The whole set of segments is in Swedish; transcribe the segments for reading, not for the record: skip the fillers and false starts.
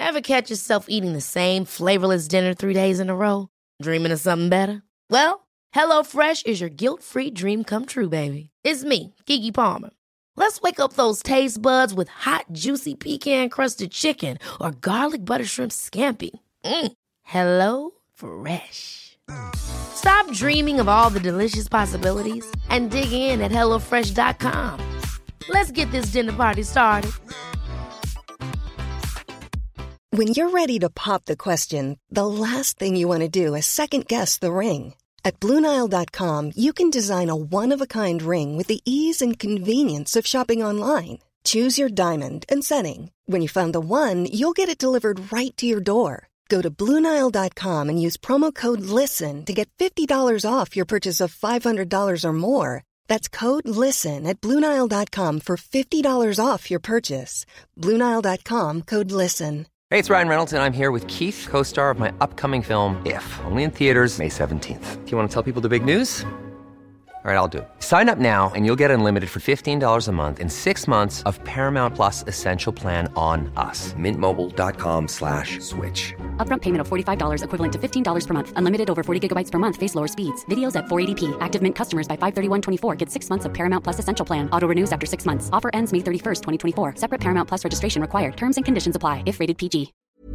Ever catch yourself eating the same flavorless dinner 3 days in a row? Dreaming of something better? Well, HelloFresh is your guilt-free dream come true, baby. It's me, Keke Palmer. Let's wake up those taste buds with hot, juicy pecan-crusted chicken or garlic butter shrimp scampi. Hello Fresh. Stop dreaming of all the delicious possibilities and dig in at HelloFresh.com. Let's get this dinner party started. When you're ready to pop the question, the last thing you want to do is second-guess the ring. At BlueNile.com, you can design a one-of-a-kind ring with the ease and convenience of shopping online. Choose your diamond and setting. When you find the one, you'll get it delivered right to your door. Go to BlueNile.com and use promo code LISTEN to get $50 off your purchase of $500 or more. That's code LISTEN at BlueNile.com for $50 off your purchase. BlueNile.com, code LISTEN. Hey, it's Ryan Reynolds, and I'm here with Keith, co-star of my upcoming film, If, only in theaters May 17th. Do you want to tell people the big news? All right, I'll do it. Sign up now and you'll get unlimited for $15 a month and 6 months of Paramount Plus Essential Plan on us. MintMobile.com/switch. Upfront payment of $45 equivalent to $15 per month. Unlimited over 40 gigabytes per month. Face lower speeds. Videos at 480p. Active Mint customers by 531.24 get 6 months of Paramount Plus Essential Plan. Auto renews after 6 months. Offer ends May 31st, 2024. Separate Paramount Plus registration required. Terms and conditions apply if rated PG.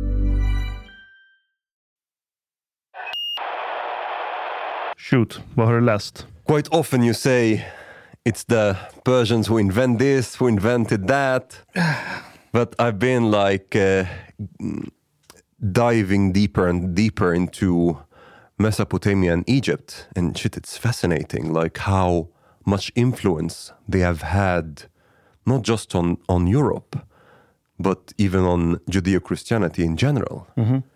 Shoot, vad har du läst? Quite often you say it's the Persians who invent this, who invented that. But I've been diving deeper and deeper into Mesopotamia and Egypt. And shit, it's fascinating, like how much influence they have had, not just on Europe, but even on Judeo-Christianity in general.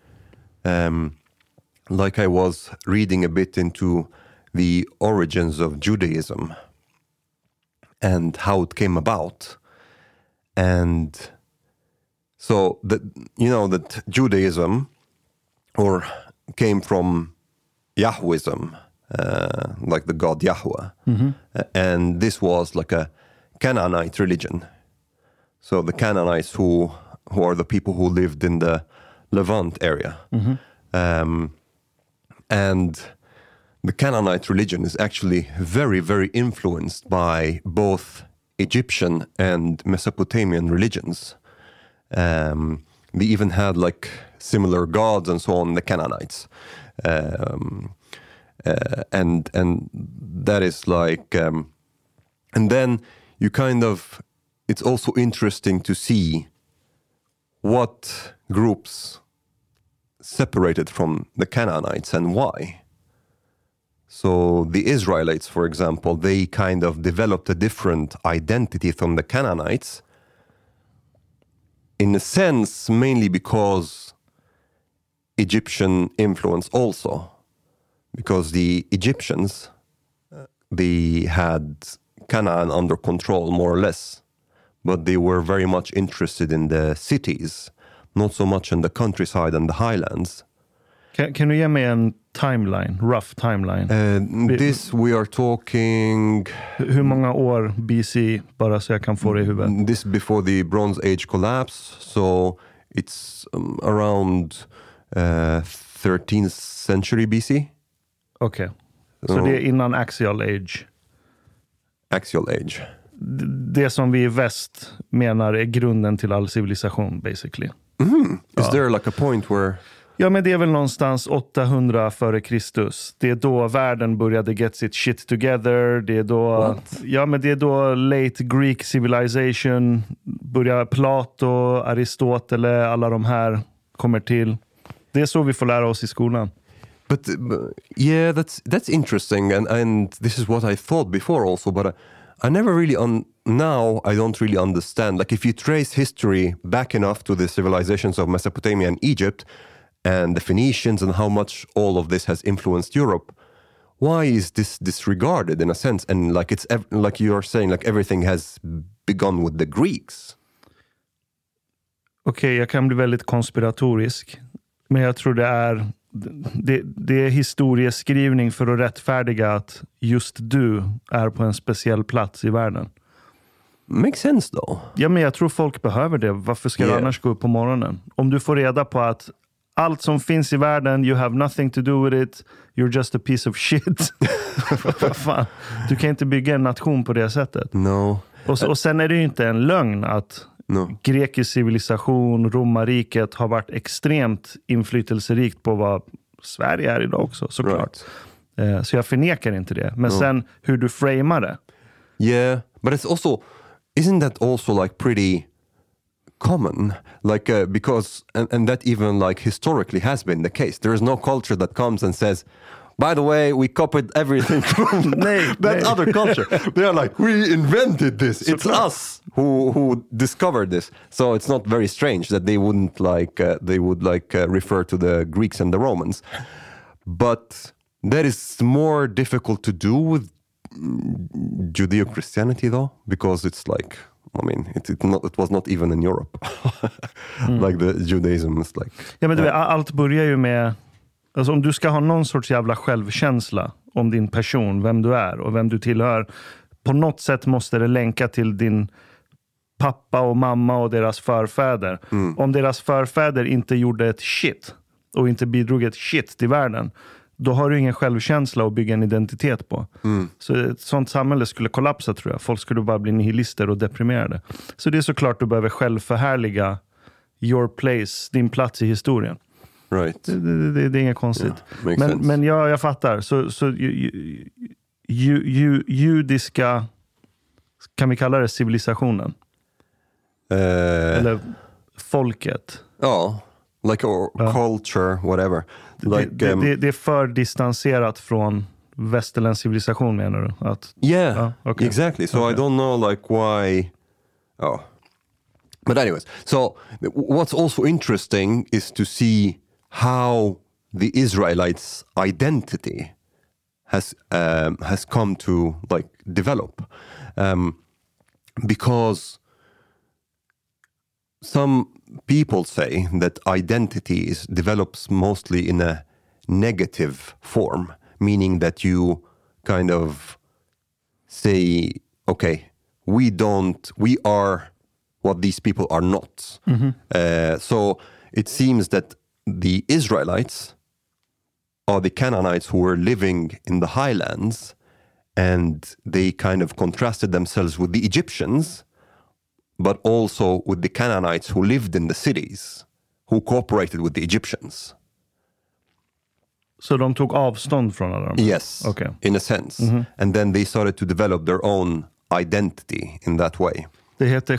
Like I was reading a bit into the origins of Judaism and how it came about. And so that Judaism came from Yahwism, like the god Yahweh. And this was like a Canaanite religion. So the Canaanites who are the people who lived in the Levant area. And the Canaanite religion is actually very, very influenced by both Egyptian and Mesopotamian religions. They even had like similar gods and so on, the Canaanites. And that is like... and then you it's also interesting to see what groups separated from the Canaanites and why. So the Israelites, for example, they kind of developed a different identity from the Canaanites, in a sense, mainly because Egyptian influence also. Because the Egyptians, they had Canaan under control, more or less. But they were very much interested in the cities, not so much in the countryside and the highlands. Kan du ge mig en timeline, rough timeline? This we are talking... Hur många år BC, bara så jag kan få det i huvudet? This before the Bronze Age collapse, so it's around 13th century BC. Okej, så det är innan Axial Age? Axial Age. Det som vi i väst menar är grunden till all civilisation, basically. Is there like a point where... Ja, men det är väl någonstans 800 före Kristus. Det är då världen började get sitt shit together. Det är då... What? Ja, men det är då late Greek civilization börjar. Plato, Aristoteles, alla de här kommer till. Det är så vi får lära oss i skolan. But yeah, that's interesting, and this is what I thought before also, but I never really now I don't really understand. Like if you trace history back enough to the civilizations of Mesopotamia and Egypt, and the Phoenicians, and how much all of this has influenced Europe, why is this disregarded in a sense? And like it's like you are saying, like everything has begun with the Greeks. Okej, jag kan bli väldigt konspiratorisk, men jag tror det är historieskrivning för att rättfärdiga att just du är på en speciell plats i världen. Makes sense though. Ja, men jag tror folk behöver det. Varför ska du annars gå upp på morgonen? Om du får reda på att allt som finns i världen, you have nothing to do with it, you're just a piece of shit. Vad fan? Du kan inte bygga en nation på det sättet. No. Och sen är det ju inte en lögn att grekisk civilisation, romarriket har varit extremt inflytelserikt på vad Sverige är idag också, såklart. Right. Så jag förnekar inte det. Men sen hur du framar det. Yeah, but it's also, isn't that also like pretty common? Like, because, and that even like historically has been the case. There is no culture that comes and says, by the way, we copied everything from that other culture. They are like, we invented this. It's us who discovered this. So it's not very strange that they wouldn't like, they would like refer to the Greeks and the Romans. But that is more difficult to do with Judeo-Christianity though, because it's like, I mean, it was not even in Europe. Like the Judaism is like... Ja, men allt börjar ju med... Alltså om du ska ha någon sorts jävla självkänsla om din person, vem du är och vem du tillhör, på något sätt måste det länka till din pappa och mamma och deras förfäder. Om deras förfäder inte gjorde ett shit och inte bidrog ett shit till världen, då har du ingen självkänsla att bygga en identitet på. Så ett sånt samhälle skulle kollapsa, tror jag. Folk skulle bara bli nihilister och deprimerade. Så det är såklart du behöver självförhärliga your place, din plats i historien. Right. Det är inget konstigt. Yeah, men jag fattar. Så judiska, kan vi kalla det civilisationen? Eller folket? Ja, like culture, whatever. Like, det är för distanserat från västerländsk civilisation, menar du? Okay. Exactly. So I don't know like why... Oh. But anyways, so what's also interesting is to see how the Israelites' identity has come to like develop, because some people say that identity develops mostly in a negative form, meaning that you kind of say, okay, we are what these people are not. So it seems that the Israelites are the Canaanites who were living in the highlands, and they kind of contrasted themselves with the Egyptians, but also with the Canaanites who lived in the cities, who cooperated with the Egyptians. Så de tog avstånd från alla dem? Yes, in a sense. And then they started to develop their own identity in that way. Det heter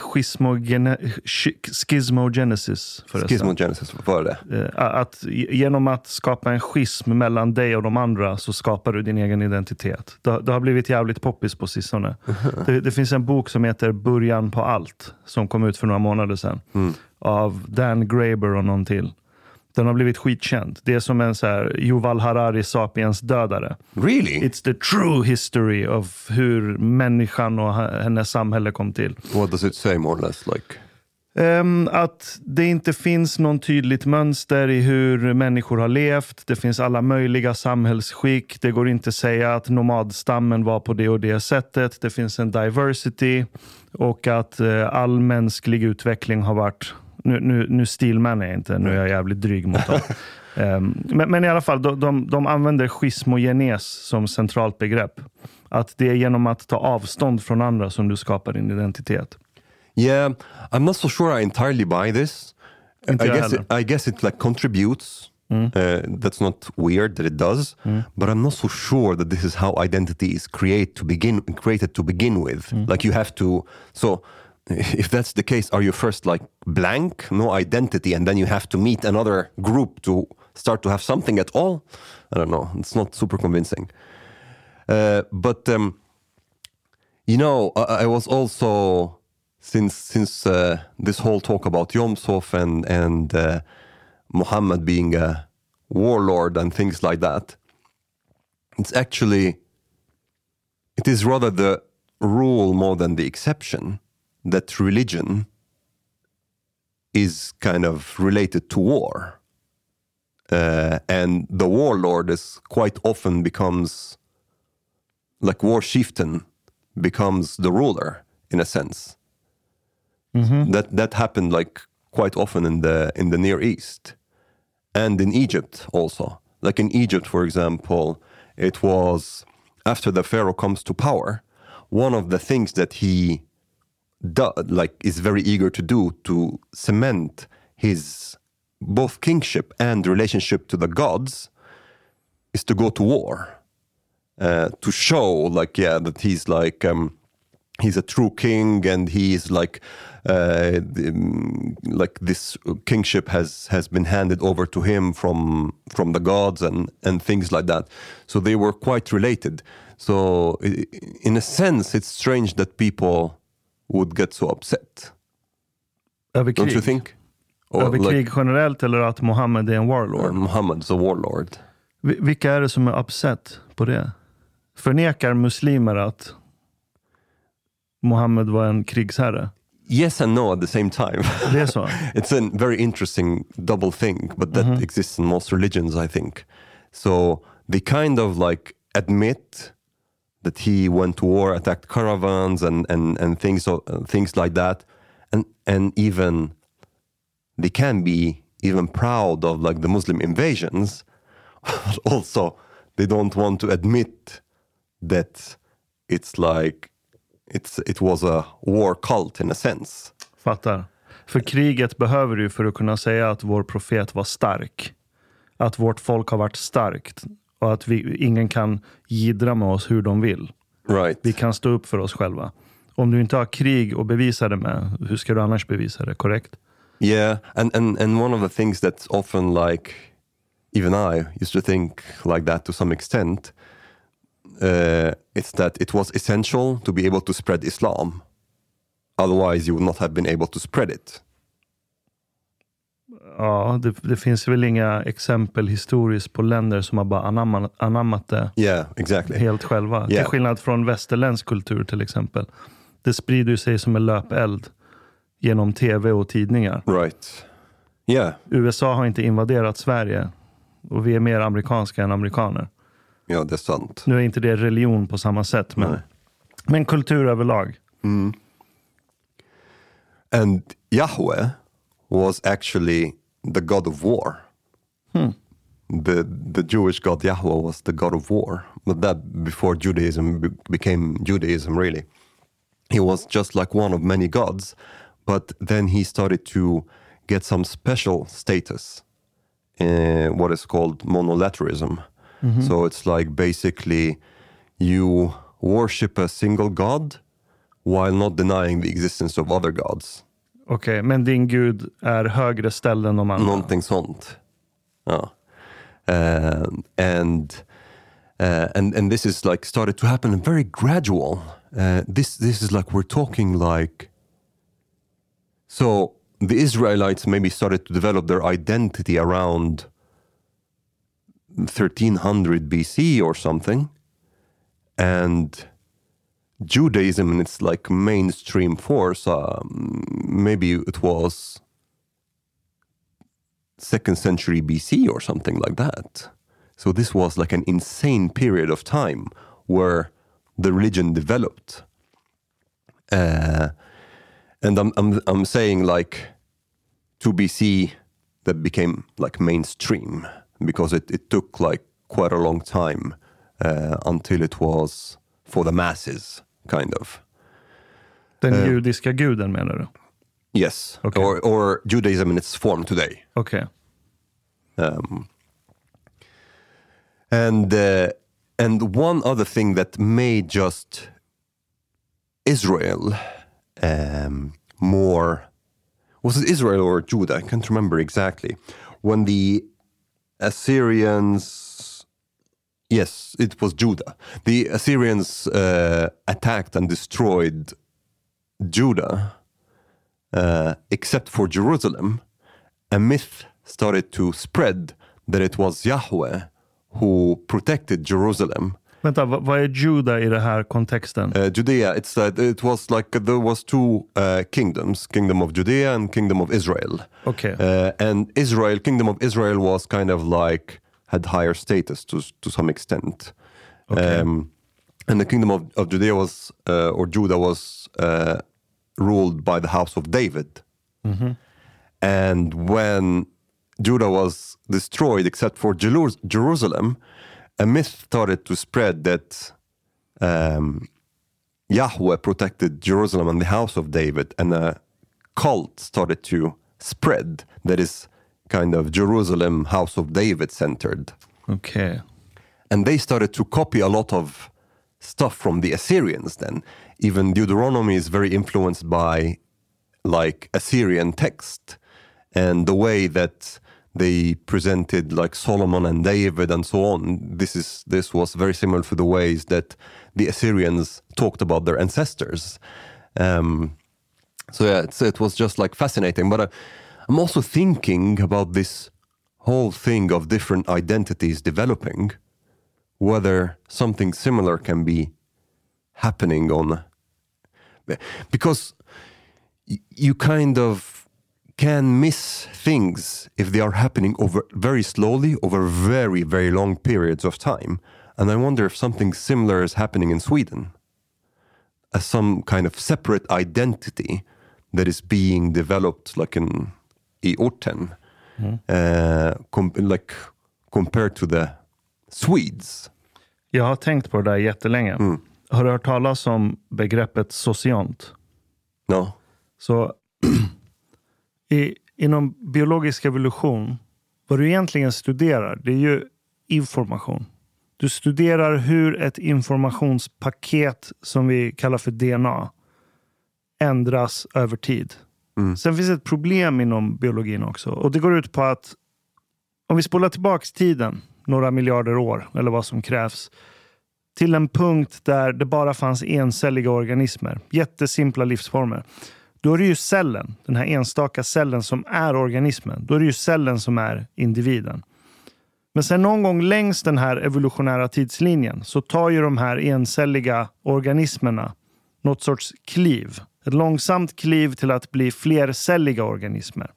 schismogenesis. Schismogenesis, vad är det? Att genom att skapa en schism mellan dig och de andra så skapar du din egen identitet. Det har blivit jävligt poppis på sistone. Det finns en bok som heter Början på allt, som kom ut för några månader sedan. Av Dan Graeber och någon till. Den har blivit skitkänd. Det är som en så här Yuval Harari Sapiens dödare. Really? It's the true history of hur människan och hennes samhälle kom till. What does it say more or less like? Att det inte finns någon tydligt mönster i hur människor har levt. Det finns alla möjliga samhällsskick. Det går inte att säga att nomadstammen var på det och det sättet. Det finns en diversity. Och att all mänsklig utveckling har varit... Nu stilman är inte, nu är jag jävligt dryg mot dem. Men i alla fall, de använder schismogenes som centralt begrepp. Att det är genom att ta avstånd från andra som du skapar din identitet. Yeah, I'm not so sure I entirely buy this. I guess it like contributes. That's not weird that it does, but I'm not so sure that this is how identity is created to begin with. Like you have to, so if that's the case, are you first like blank, no identity, and then you have to meet another group to start to have something at all? I don't know. It's not super convincing. But you know, I was also since this whole talk about Yom Tov and Muhammad being a warlord and things like that. It is rather the rule more than the exception that religion is kind of related to war. And the warlord is quite often becomes, like war chieftain, becomes the ruler in a sense. That happened like quite often in the Near East and in Egypt also. Like in Egypt, for example, it was after the Pharaoh comes to power, one of the things that he is very eager to do to cement his both kingship and relationship to the gods is to go to war, to show that he's he's a true king, and he's this kingship has been handed over to him from the gods and things like that. So they were quite related. So in a sense, it's strange that people would get so upset. Över krig? Don't you think? Över krig generellt, eller att Mohammed är en warlord? Mohammed's a warlord. Vilka är det som är upset på det? Förnekar muslimer att Mohammed var en krigsherre? Yes and no at the same time. Det är så? It's a very interesting double thing, but that exists in most religions, I think. So they kind of admit that he went to war, attacked caravans and things like that, and even they can be even proud of the Muslim invasions. But also, they don't want to admit that it was a war cult in a sense. Fattar. För kriget behöver du för att kunna säga att vår profet var stark. Att vårt folk har varit starkt. Och att ingen kan gidra med oss hur de vill. Right. Vi kan stå upp för oss själva. Om du inte har krig att bevisa det med, hur ska du annars bevisa det, korrekt? Yeah, and one of the things that's often even I used to think like that to some extent, it's that it was essential to be able to spread Islam. Otherwise you would not have been able to spread it. Ja, det finns väl inga exempel historiskt på länder som har bara anammat det helt själva. Till skillnad från västerländsk kultur till exempel. Det sprider sig som en löpeld genom tv och tidningar. Right. Yeah. USA har inte invaderat Sverige och vi är mer amerikanska än amerikaner. Ja, det är sant. Nu är inte det religion på samma sätt, men kultur överlag. Mm. And Yahweh was actually the god of war. The Jewish god Yahweh was the god of war. But that before Judaism became Judaism, really. He was just like one of many gods. But then he started to get some special status in what is called monolatrism. Mm-hmm. So it's basically you worship a single god while not denying the existence of other gods. Okej, men din gud är högre ställd än de andra? Någonting sånt. Ja. And this is started to happen very gradual. This is we're talking so the Israelites maybe started to develop their identity around 1300 BC or something, and Judaism in its mainstream force, maybe it was 2nd century BC or something like that. So this was an insane period of time where the religion developed. And I'm saying 2 BC that became mainstream because it took quite a long time until it was for the masses, kind of. Den judiska guden menar du? Yes, okay. or Judaism in its form today. Okay. And one other thing that made just Israel more, was it Israel or Judah? I can't remember exactly. When the Assyrians, yes, it was Judah. The Assyrians attacked and destroyed Judah, except for Jerusalem. A myth started to spread that it was Yahweh who protected Jerusalem. Vänta, vad är Judah i den här kontexten? Judea, it was there was 2 kingdoms, Kingdom of Judea and Kingdom of Israel. Okay. And Kingdom of Israel was kind of had higher status to some extent. Okay. And the Kingdom of Judea was, or Judah was ruled by the house of David. And when Judah was destroyed, except for Jerusalem, a myth started to spread that Yahweh protected Jerusalem and the house of David, and a cult started to spread that is kind of Jerusalem, house of David centered. Okay. And they started to copy a lot of stuff from the Assyrians then. Even Deuteronomy is very influenced by like Assyrian text, and the way that they presented like Solomon and David and so on. This was very similar to the ways that the Assyrians talked about their ancestors. So yeah, it was just like fascinating. But I'm also thinking about this whole thing of different identities developing, whether something similar can be happening on, because you kind of can miss things if they are happening over very slowly over very, very long periods of time. And I wonder if something similar is happening in Sweden, as some kind of separate identity that is being developed like i orten, compared to the Swedes. Jag har tänkt på det där jättelänge. Har du hört talas om begreppet sociant? No. Så inom biologisk evolution, vad du egentligen studerar, det är ju information. Du studerar hur ett informationspaket som vi kallar för DNA ändras över tid. Sen finns ett problem inom biologin också. Och det går ut på att om vi spolar tillbaks tiden några miljarder år, eller vad som krävs, till en punkt där det bara fanns encelliga organismer, jättesimpla livsformer, då är det ju cellen, den här enstaka cellen som är organismen. Då är det ju cellen som är individen. Men sen någon gång längs den här evolutionära tidslinjen så tar ju de här encelliga organismerna något sorts kliv. Ett långsamt kliv till att bli flercelliga organismer.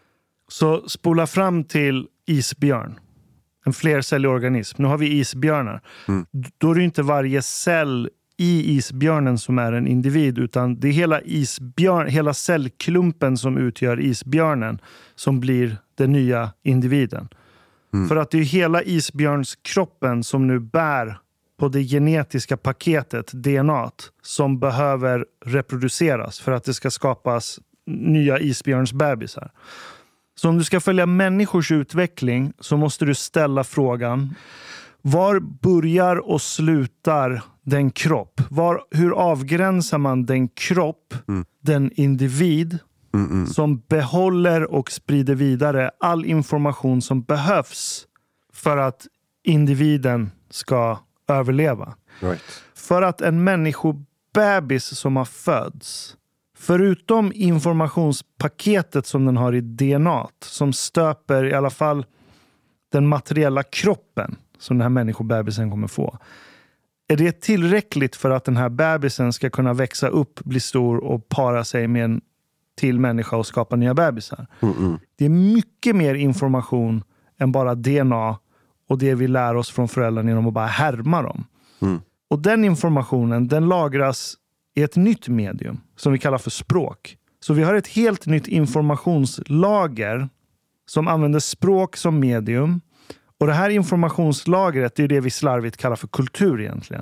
Så spola fram till isbjörn. En flercellig organism. Nu har vi isbjörnar. Då är det inte varje cell i isbjörnen som är en individ, utan det är hela cellklumpen som utgör isbjörnen som blir den nya individen. För att det är hela isbjörnskroppen som nu bär på det genetiska paketet, DNA, som behöver reproduceras för att det ska skapas nya isbjörnsbebisar. Så om du ska följa människors utveckling så måste du ställa frågan: var börjar och slutar den kropp? Hur avgränsar man den kropp, den individ som behåller och sprider vidare all information som behövs för att individen ska överleva? Right. För att en människobebis som har fötts, förutom informationspaketet som den har i DNA, som stöper i alla fall den materiella kroppen som den här människobebisen kommer få, är det tillräckligt för att den här bebisen ska kunna växa upp, bli stor och para sig med en till människa och skapa nya bebisar? Det är mycket mer information än bara DNA och det vi lär oss från föräldrarna genom att bara härma dem. Och den informationen, den lagras i ett nytt medium som vi kallar för språk. Så vi har ett helt nytt informationslager som använder språk som medium. Och det här informationslagret är det vi slarvigt kallar för kultur egentligen.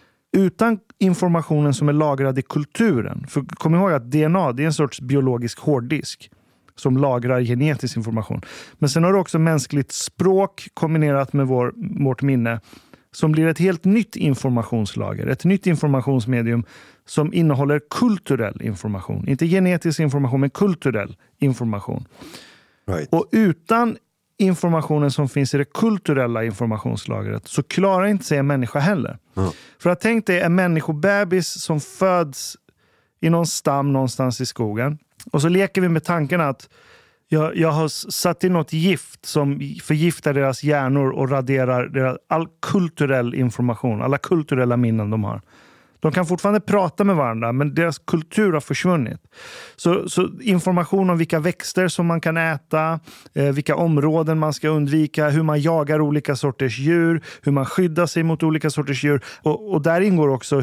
Utan informationen som är lagrad i kulturen. För kom ihåg att DNA, det är en sorts biologisk hårddisk som lagrar genetisk information. Men sen har du också mänskligt språk kombinerat med vårt minne som blir ett helt nytt informationslager. Ett nytt informationsmedium som innehåller kulturell information. Inte genetisk information, men kulturell information. Right. Och utan informationen som finns i det kulturella informationslagret så klarar inte sig en människa heller. För att tänk dig en människobebis som föds i någon stam någonstans i skogen. Och så leker vi med tanken att jag har satt in något gift som förgiftar deras hjärnor och raderar all kulturell information, alla kulturella minnen de har. De kan fortfarande prata med varandra, men deras kultur har försvunnit. Så information om vilka växter som man kan äta, vilka områden man ska undvika, hur man jagar olika sorters djur, hur man skyddar sig mot olika sorters djur. Och där ingår också hur du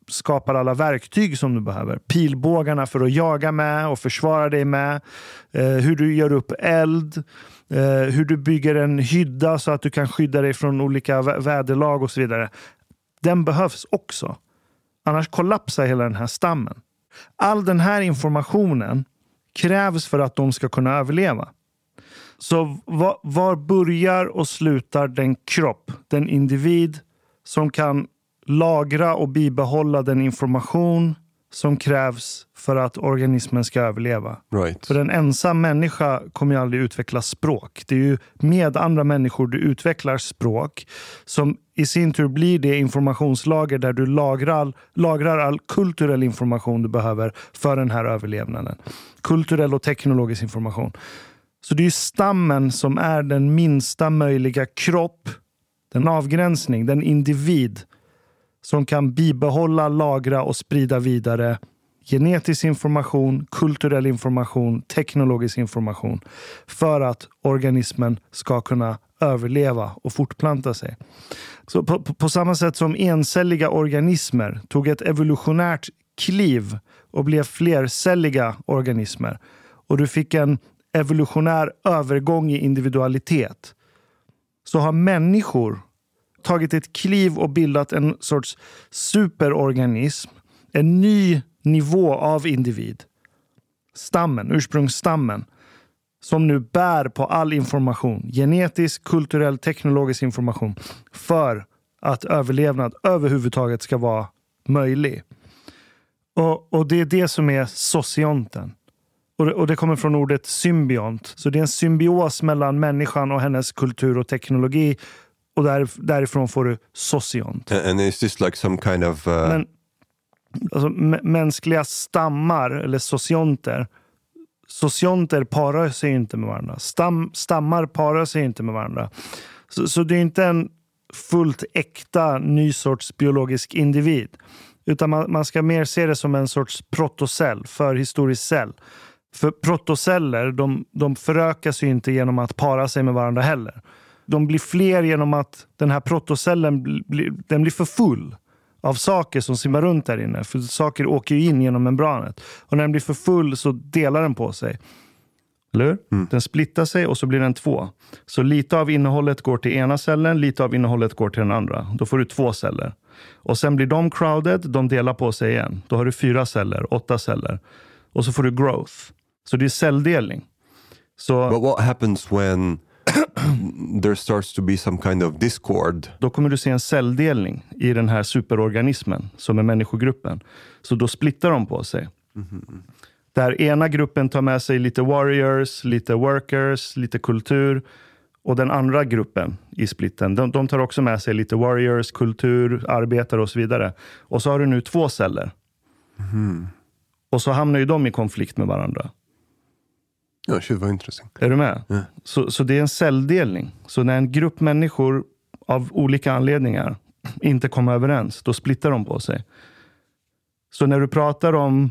skapar alla verktyg som du behöver. Pilbågarna för att jaga med och försvara dig med. Hur du gör upp eld. Hur du bygger en hydda så att du kan skydda dig från olika väderlag och så vidare. Den behövs också. Annars kollapsar hela den här stammen. All den här informationen krävs för att de ska kunna överleva. Så var börjar och slutar den kropp, den individ som kan lagra och bibehålla den information som krävs för att organismen ska överleva. Right. För en ensam människa kommer ju aldrig utveckla språk. Det är ju med andra människor du utvecklar språk som i sin tur blir det informationslager där du lagrar all kulturell information du behöver för den här överlevnaden. Kulturell och teknologisk information. Så det är ju stammen som är den minsta möjliga kropp, den avgränsning, den individ som kan bibehålla, lagra och sprida vidare genetisk information, kulturell information, teknologisk information för att organismen ska kunna överleva och fortplanta sig. Så på samma sätt som encelliga organismer tog ett evolutionärt kliv och blev flercelliga organismer och du fick en evolutionär övergång i individualitet, så har människor tagit ett kliv och bildat en sorts superorganism, en ny nivå av individ. Stammen, ursprungsstammen, som nu bär på all information, genetisk, kulturell, teknologisk information för att överlevnad överhuvudtaget ska vara möjlig. Och det är det som är socionten. Och det kommer från ordet symbiont. Så det är en symbios mellan människan och hennes kultur och teknologi. Och därifrån får du sociont. And is this like some kind of... Men, alltså, mänskliga stammar eller socionter parar sig inte med varandra. Stammar parar sig inte med varandra. Så det är inte en fullt äkta ny sorts biologisk individ. Utan man ska mer se det som en sorts protocell, förhistorisk cell. För protoceller, de förökas ju inte genom att para sig med varandra heller. De blir fler genom att den här protocellen den blir för full av saker som simmar runt där inne. För saker åker ju in genom membranet. Och när den blir för full så delar den på sig. Eller hur? Mm. Den splittar sig och så blir den 2. Så lite av innehållet går till ena cellen, lite av innehållet går till den andra. Då får du 2 celler. Och sen blir de crowded, de delar på sig igen. Då har du 4 celler, 8 celler. Och så får du growth. Så det är celldelning. Så, but what happens when there starts to be some kind of discord? Då kommer du se en celldelning i den här superorganismen som är människogruppen. Så då splittar de på sig. Mm-hmm. Där ena gruppen tar med sig lite warriors, lite workers, lite kultur. Och den andra gruppen i splitten, de tar också med sig lite warriors, kultur, arbetare och så vidare. Och så har du nu 2 celler. Mm. Och så hamnar ju de i konflikt med varandra. Ja, shit, vad intressant. Är du med? Yeah. Så det är en celldelning. Så när en grupp människor av olika anledningar inte kommer överens, då splittar de på sig. Så när du pratar om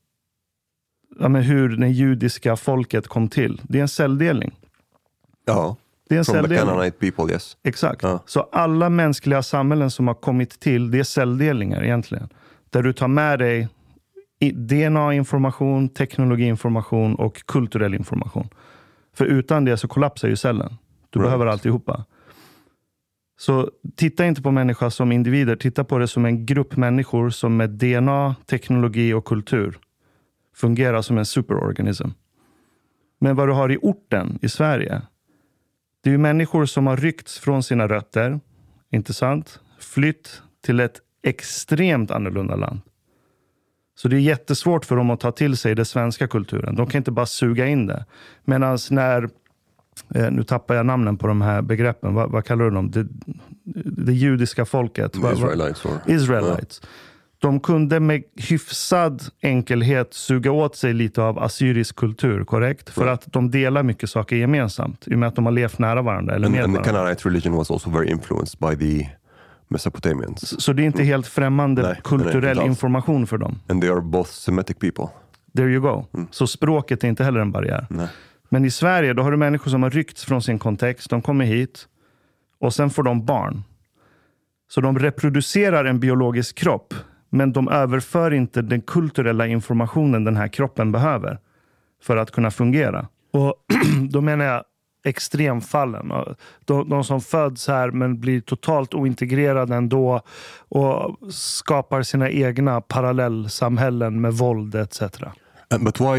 hur det judiska folket kom till, det är en celldelning. Ja, det är en from celldelning. The Canaanite people, yes. Exakt. Ja. Så alla mänskliga samhällen som har kommit till, det är celldelningar egentligen. Där du tar med dig DNA-information, teknologiinformation och kulturell information. För utan det så kollapsar ju cellen. Du behöver alltihopa. Så titta inte på människor som individer. Titta på det som en grupp människor som med DNA, teknologi och kultur fungerar som en superorganism. Men vad du har i orten i Sverige, det är ju människor som har ryckts från sina rötter, inte sant? Flytt till ett extremt annorlunda land. Så det är jättesvårt för dem att ta till sig den svenska kulturen. De kan inte bara suga in det. Medan när, nu tappar jag namnen på de här begreppen, vad kallar du dem? Det judiska folket. Israelites. Ja. De kunde med hyfsad enkelhet suga åt sig lite av assyrisk kultur, korrekt? För att de delar mycket saker gemensamt, i och med att de har levt nära varandra. Eller med and varandra. The Canaanite religion was also very influenced by the Mesopotamians. Så det är inte helt främmande kulturell information för dem. And they are both Semitic people. There you go. Så språket är inte heller en barriär. Nej. Men i Sverige, då har du människor som har ryckts från sin kontext. De kommer hit och sen får de barn. Så de reproducerar en biologisk kropp Men de överför inte den kulturella informationen den här kroppen behöver för att kunna fungera. Och då menar jag extremfallen. De som föds här men blir totalt ointegrerade ändå och skapar sina egna parallellsamhällen med våld etc. But why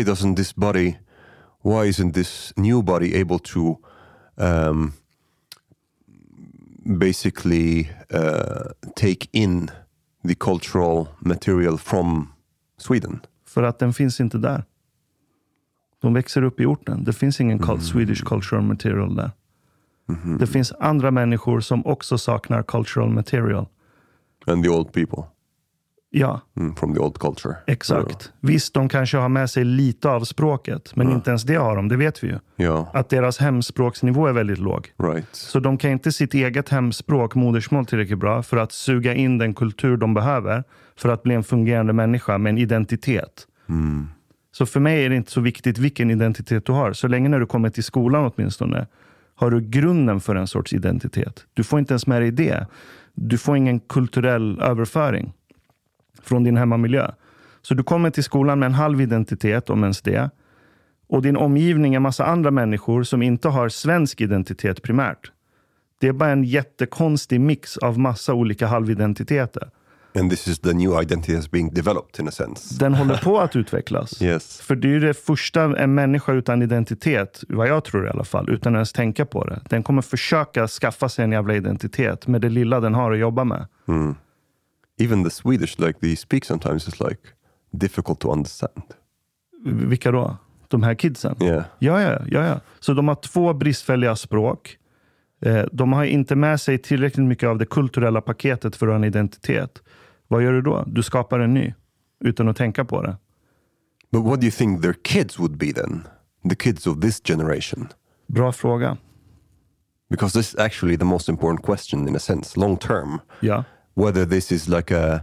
isn't this new body able to basically take in the cultural material from Sweden? För att den finns inte där. De växer upp i orten. Det finns ingen Swedish cultural material där. Det finns andra människor som också saknar cultural material. And the old people. Ja. From the old culture. Exakt. Visst, de kanske har med sig lite av språket. Men inte ens det har de, det vet vi ju. Ja. Att deras hemspråksnivå är väldigt låg. Right. Så de kan inte sitt eget hemspråk, modersmål tillräckligt bra för att suga in den kultur de behöver för att bli en fungerande människa med en identitet. Så för mig är det inte så viktigt vilken identitet du har. Så länge när du kommer till skolan åtminstone har du grunden för en sorts identitet. Du får inte ens med dig det. Du får ingen kulturell överföring från din hemmamiljö. Så du kommer till skolan med en halv identitet, om ens det. Och din omgivning är massa andra människor som inte har svensk identitet primärt. Det är bara en jättekonstig mix av massa olika halvidentiteter. And this is the new identity that's being developed in a sense. Den håller på att utvecklas. Yes. För det är ju det första, en människa utan identitet, vad jag tror i alla fall, utan ens tänka på det. Den kommer försöka skaffa sig en jävla identitet med det lilla den har att jobba med. Even the Swedish, like they speak sometimes, is like difficult to understand. Vilka då? De här kidsen? Yeah. Ja. Så de har 2 bristfälliga språk. De har inte med sig tillräckligt mycket av det kulturella paketet för att ha en identitet. Vad gör du då? Du skapar en ny utan att tänka på det. But what do you think their kids would be then? The kids of this generation? Bra fråga. Because this is actually the most important question in a sense, long term. Ja. Whether this is like a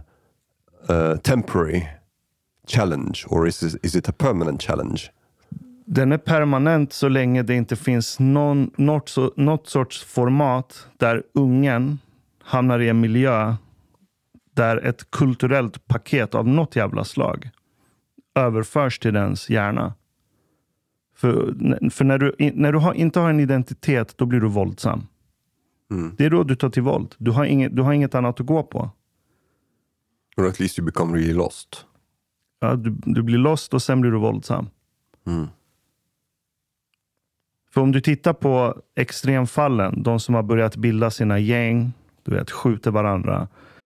temporary challenge or is it a permanent challenge? Den är permanent så länge det inte finns något sorts format där ungen hamnar i en miljö där ett kulturellt paket av något jävla slag överförs till dens hjärna. För när du inte har en identitet, då blir du våldsam. Det är då du tar till våld. Du har inget annat att gå på. Or at least you become really lost. Ja, du blir lost och sen blir du våldsam. För om du tittar på extremfallen, de som har börjat bilda sina gäng, du vet, skjuter varandra.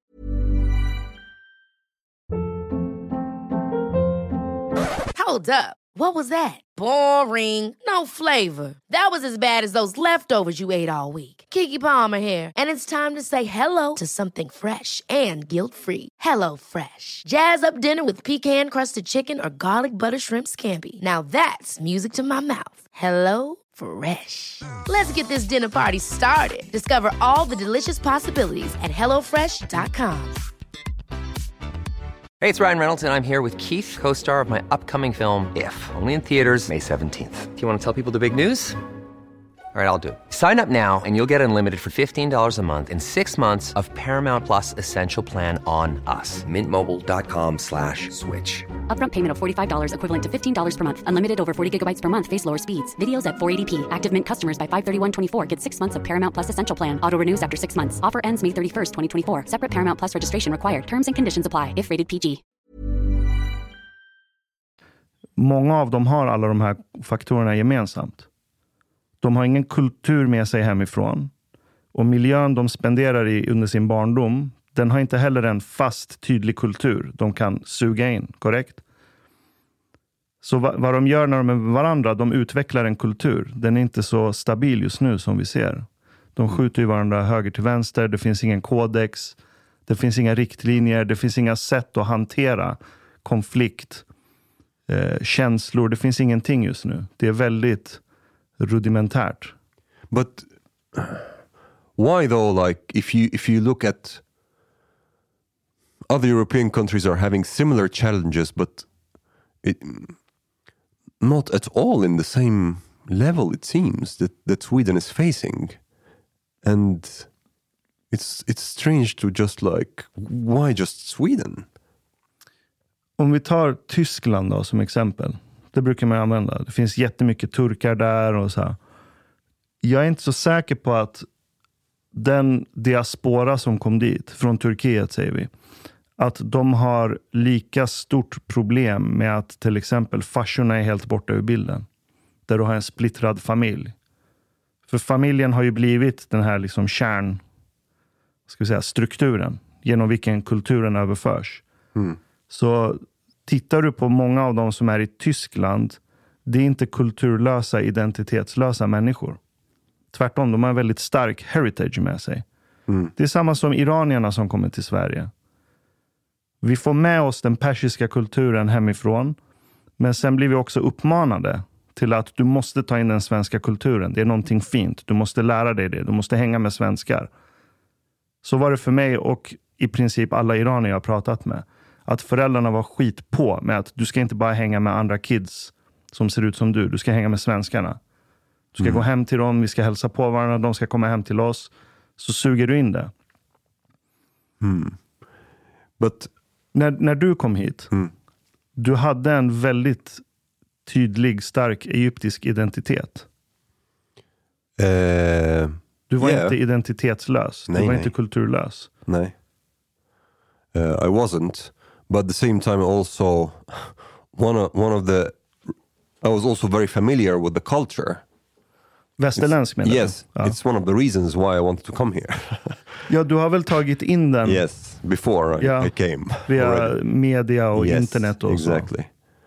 Hold up. What was that? Boring. No flavor. That was as bad as those leftovers you ate all week. Keke Palmer here, and it's time to say hello to something fresh and guilt-free. Hello Fresh. Jazz up dinner with pecan-crusted chicken or garlic butter shrimp scampi. Now that's music to my mouth. Hello Fresh. Let's get this dinner party started. Discover all the delicious possibilities at hellofresh.com. Hey, it's Ryan Reynolds, and I'm here with Keith, co-star of my upcoming film, If, only in theaters May 17th. Do you want to tell people the big news? All right, I'll do it. Sign up now and you'll get unlimited for $15 a month and 6 months of Paramount Plus Essential Plan on us. MintMobile.com/switch. Upfront payment of $45 equivalent to $15 per month. Unlimited over 40 gigabytes per month. Face lower speeds. Videos at 480p. Active Mint customers by 531.24 get 6 months of Paramount Plus Essential Plan. Auto renews after 6 months. Offer ends May 31st, 2024. Separate Paramount Plus registration required. Terms and conditions apply if rated PG. Många av dem har alla de här faktorerna gemensamt. De har ingen kultur med sig hemifrån. Och miljön de spenderar i under sin barndom, den har inte heller en fast, tydlig kultur de kan suga in, korrekt? Så vad de gör när de är med varandra, de utvecklar en kultur. Den är inte så stabil just nu som vi ser. De skjuter ju varandra höger till vänster, det finns ingen kodex, det finns inga riktlinjer, det finns inga sätt att hantera konflikt, känslor, det finns ingenting just nu. Det är väldigt rudimentärt. But why though? Like if you look at other European countries are having similar challenges, but not at all in the same level. It seems that Sweden is facing, and it's strange to just like, why just Sweden? Om vi tar Tyskland då som exempel. Det brukar man använda. Det finns jättemycket turkar där och så här. Jag är inte så säker på att den diaspora som kom dit, från Turkiet säger vi, att de har lika stort problem med att till exempel farsorna är helt borta ur bilden. Där du har en splittrad familj. För familjen har ju blivit den här liksom strukturen genom vilken kulturen överförs. Så tittar du på många av de som är i Tyskland, det är inte kulturlösa, identitetslösa människor. Tvärtom, de har en väldigt stark heritage med sig. Det är samma som iranierna som kommer till Sverige. Vi får med oss den persiska kulturen hemifrån, men sen blir vi också uppmanade till att du måste ta in den svenska kulturen. Det är någonting fint. Du måste lära dig det. Du måste hänga med svenskar. Så var det för mig och i princip alla iranier jag har pratat med. Att föräldrarna var skit på med att du ska inte bara hänga med andra kids som ser ut som du. Du ska hänga med svenskarna. Du ska gå hem till dem. Vi ska hälsa på varandra. De ska komma hem till oss. Så suger du in det. But När du kom hit. Du hade en väldigt tydlig, stark egyptisk identitet. Du var inte identitetslös. Du var inte kulturlös. Nej. I wasn't. But at the same time also I was also very familiar with the culture. Västerländsk menar du? Yes, it's one of the reasons why I wanted to come here. Ja, du har väl tagit in den? Yes, before I came. Via already. media och internet och exactly.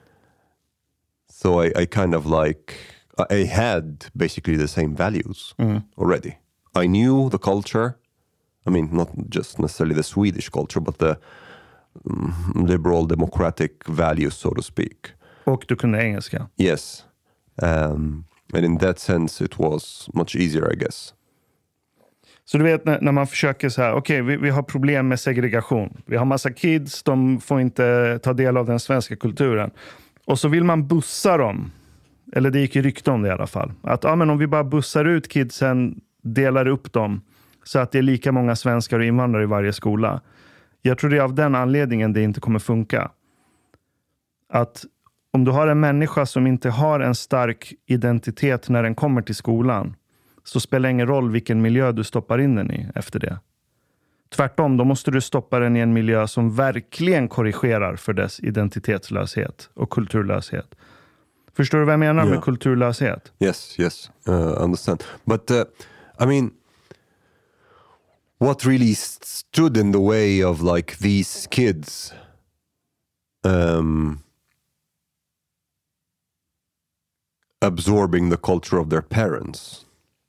So I kind of like, I had basically the same values already. I knew the culture. I mean, not just necessarily the Swedish culture, but the liberal democratic values, so to speak. Och du kunde engelska? Yes. And in that sense it was much easier, I guess. Så du vet när man försöker så här, okej, vi har problem med segregation. Vi har massa kids, de får inte ta del av den svenska kulturen. Och så vill man bussa dem. Eller det gick ju rykte om det i alla fall. Att men om vi bara bussar ut kidsen, delar upp dem så att det är lika många svenskar och invandrare i varje skola. Jag tror det är av den anledningen det inte kommer funka. Att om du har en människa som inte har en stark identitet när den kommer till skolan, så spelar det ingen roll vilken miljö du stoppar in den i efter det. Tvärtom, då måste du stoppa den i en miljö som verkligen korrigerar för dess identitetslöshet och kulturlöshet. Förstår du vad jag menar med kulturlöshet? Yes, understand. But I mean, what really stood in the way of like these kids absorbing the culture of their parents?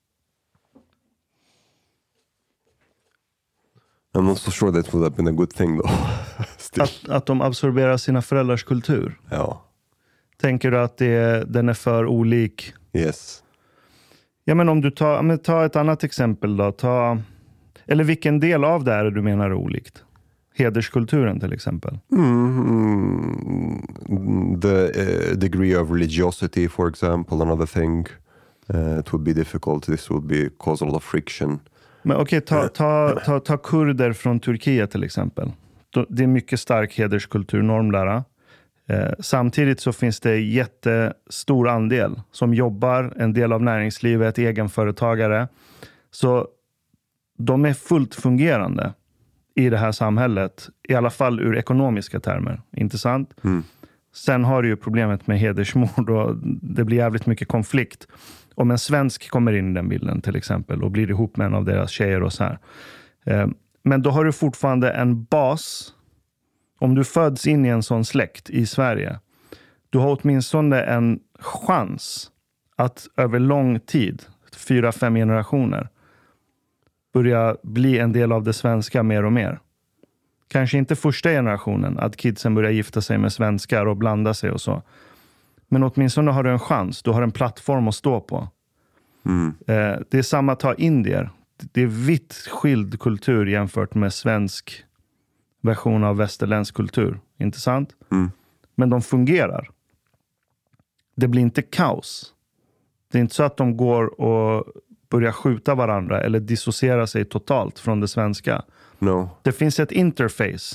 I'm not so sure that would have been a good thing though. Att de absorberar sina föräldrars kultur? Ja. Tänker du att den är för olik? Yes. Ja, men om du tar ett annat exempel då. Eller vilken del av det är du menar är olikt? Hederskulturen till exempel. The degree of religiosity, for example, another thing. It would be difficult. This would cause a lot of friction. Men okej, ta kurder från Turkiet till exempel. Det är mycket stark hederskultur, normlära. Samtidigt så finns det jättestor andel som jobbar, en del av näringslivet, egenföretagare. Så de är fullt fungerande i det här samhället, i alla fall ur ekonomiska termer, inte sant? Sen har du ju problemet med hedersmord och det blir jävligt mycket konflikt. Om en svensk kommer in i den bilden till exempel och blir ihop med en av deras tjejer och så här. Men då har du fortfarande en bas. Om du föds in i en sån släkt i Sverige, du har åtminstone en chans att över lång tid, 4-5 generationer, börja bli en del av det svenska mer och mer. Kanske inte första generationen, att kidsen börjar gifta sig med svenskar och blanda sig och så. Men åtminstone har du en chans, du har en plattform att stå på. Det är samma, ta indier. Det är vitt skild kultur jämfört med svensk version av västerländsk kultur. Inte sant? Men de fungerar. Det blir inte kaos. Det är inte så att de går och börjar skjuta varandra eller dissociera sig totalt från det svenska. No. Det finns ett interface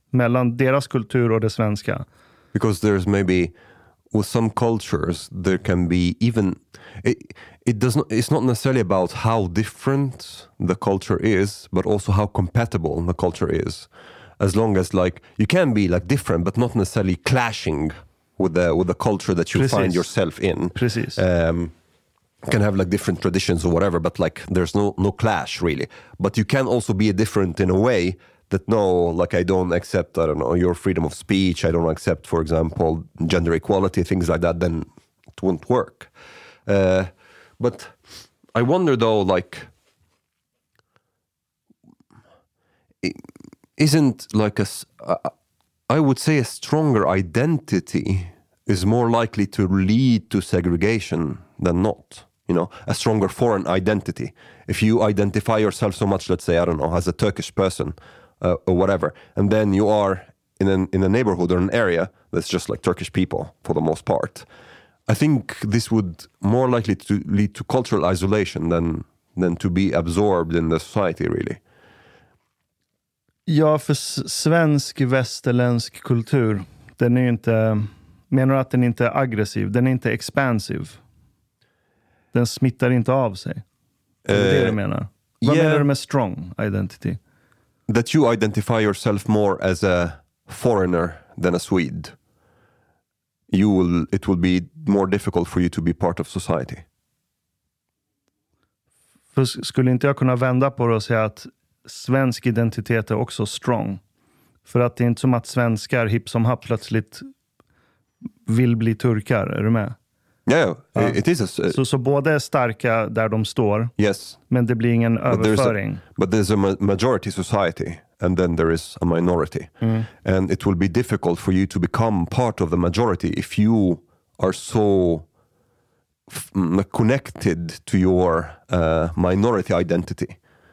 mellan deras kultur och det svenska. Because there's maybe with some cultures there can be even it's not necessarily about how different the culture is, but also how compatible the culture is. As long as like you can be like different but not necessarily clashing with the culture that you find yourself in. Precis. Can have like different traditions or whatever, but like there's no clash really. But you can also be different in a way that like I don't accept, I don't know, your freedom of speech. I don't accept, for example, gender equality, things like that. Then it won't work. But I wonder though, like, isn't like I would say a stronger identity is more likely to lead to segregation than not. You know, a stronger foreign identity. If you identify yourself so much, let's say, I don't know, as a Turkish person or whatever, and then you are in a neighborhood or an area that's just like Turkish people for the most part, I think this would more likely to lead to cultural isolation than to be absorbed in the society really. Ja, för svensk västerländsk kultur, den är ju inte, menar du att den inte är aggressiv, den är inte expansiv. Den smittar inte av sig. Det är det du menar. Vad menar du med strong identity? That you identify yourself more as a foreigner than a Swede. It will be more difficult for you to be part of society. För skulle inte jag kunna vända på det och säga att svensk identitet är också strong? För att det är inte som att svenskar hipp som happ plötsligt vill bli turkar, är du med? Yeah, it is. Så båda är starka där de står. Yes. Men det blir ingen överföring. But there's a majority society and then there is a minority. And it will be difficult for you to become part of the majority if you are so connected to your minority identity.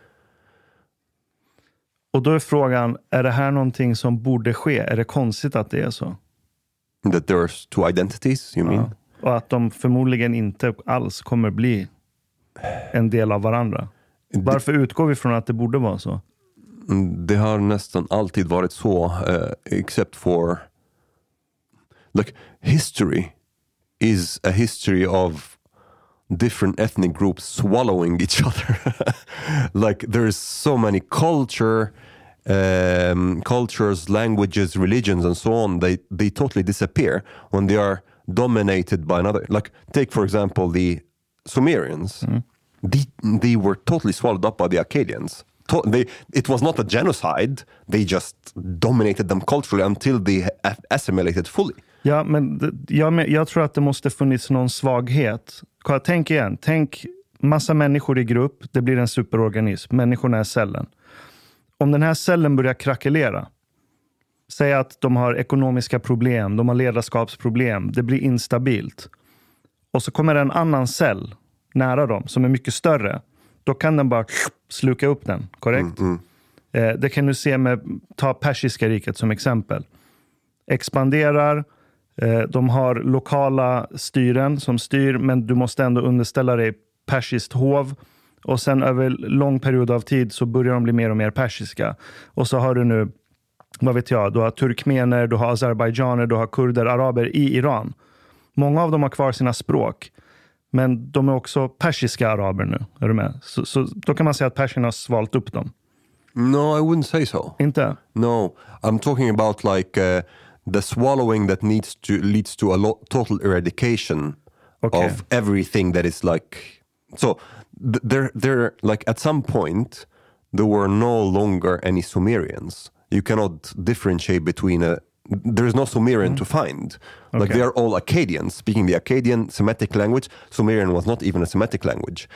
Och då är frågan, är det här någonting som borde ske? Är det konstigt att det är så? That there's two identities, you mean? Och att de förmodligen inte alls kommer bli en del av varandra. Varför utgår vi från att det borde vara så? Det har nästan alltid varit så, except for like history is a history of different ethnic groups swallowing each other. Like there's so many cultures, languages, religions and so on, they totally disappear when they are dominated by another. Like take for example the Sumerians. They were totally swallowed up by the Akkadians. It was not a genocide. They just dominated them culturally until they assimilated fully. Ja, men jag tror att det måste funnits någon svaghet. Tänk igen. Tänk massa människor i grupp. Det blir en superorganism. Människorna är cellen. Om den här cellen börjar krackelera. Säg att de har ekonomiska problem. De har ledarskapsproblem. Det blir instabilt. Och så kommer en annan cell nära dem som är mycket större. Då kan den bara sluka upp den. Korrekt? Det kan du se ta Persiska riket som exempel. Expanderar. De har lokala styren som styr, men du måste ändå underställa dig persiskt hov. Och sen över lång period av tid så börjar de bli mer och mer persiska. Och så har du nu, vad vet jag, du har turkmener, du har azerbaijaner, du har kurder, araber i Iran. Många av dem har kvar sina språk. Men de är också persiska araber nu. Är du med? Så då kan man säga att persierna har svalt upp dem. No, I wouldn't say so. Inte? No, I'm talking about like the swallowing that leads to a total eradication of everything that is like. So they're like at some point there were no longer any Sumerians. You cannot differentiate between there is no Sumerian to find. Like they are all Akkadians, speaking the Akkadian Semitic language. Sumerian was not even a Semitic language.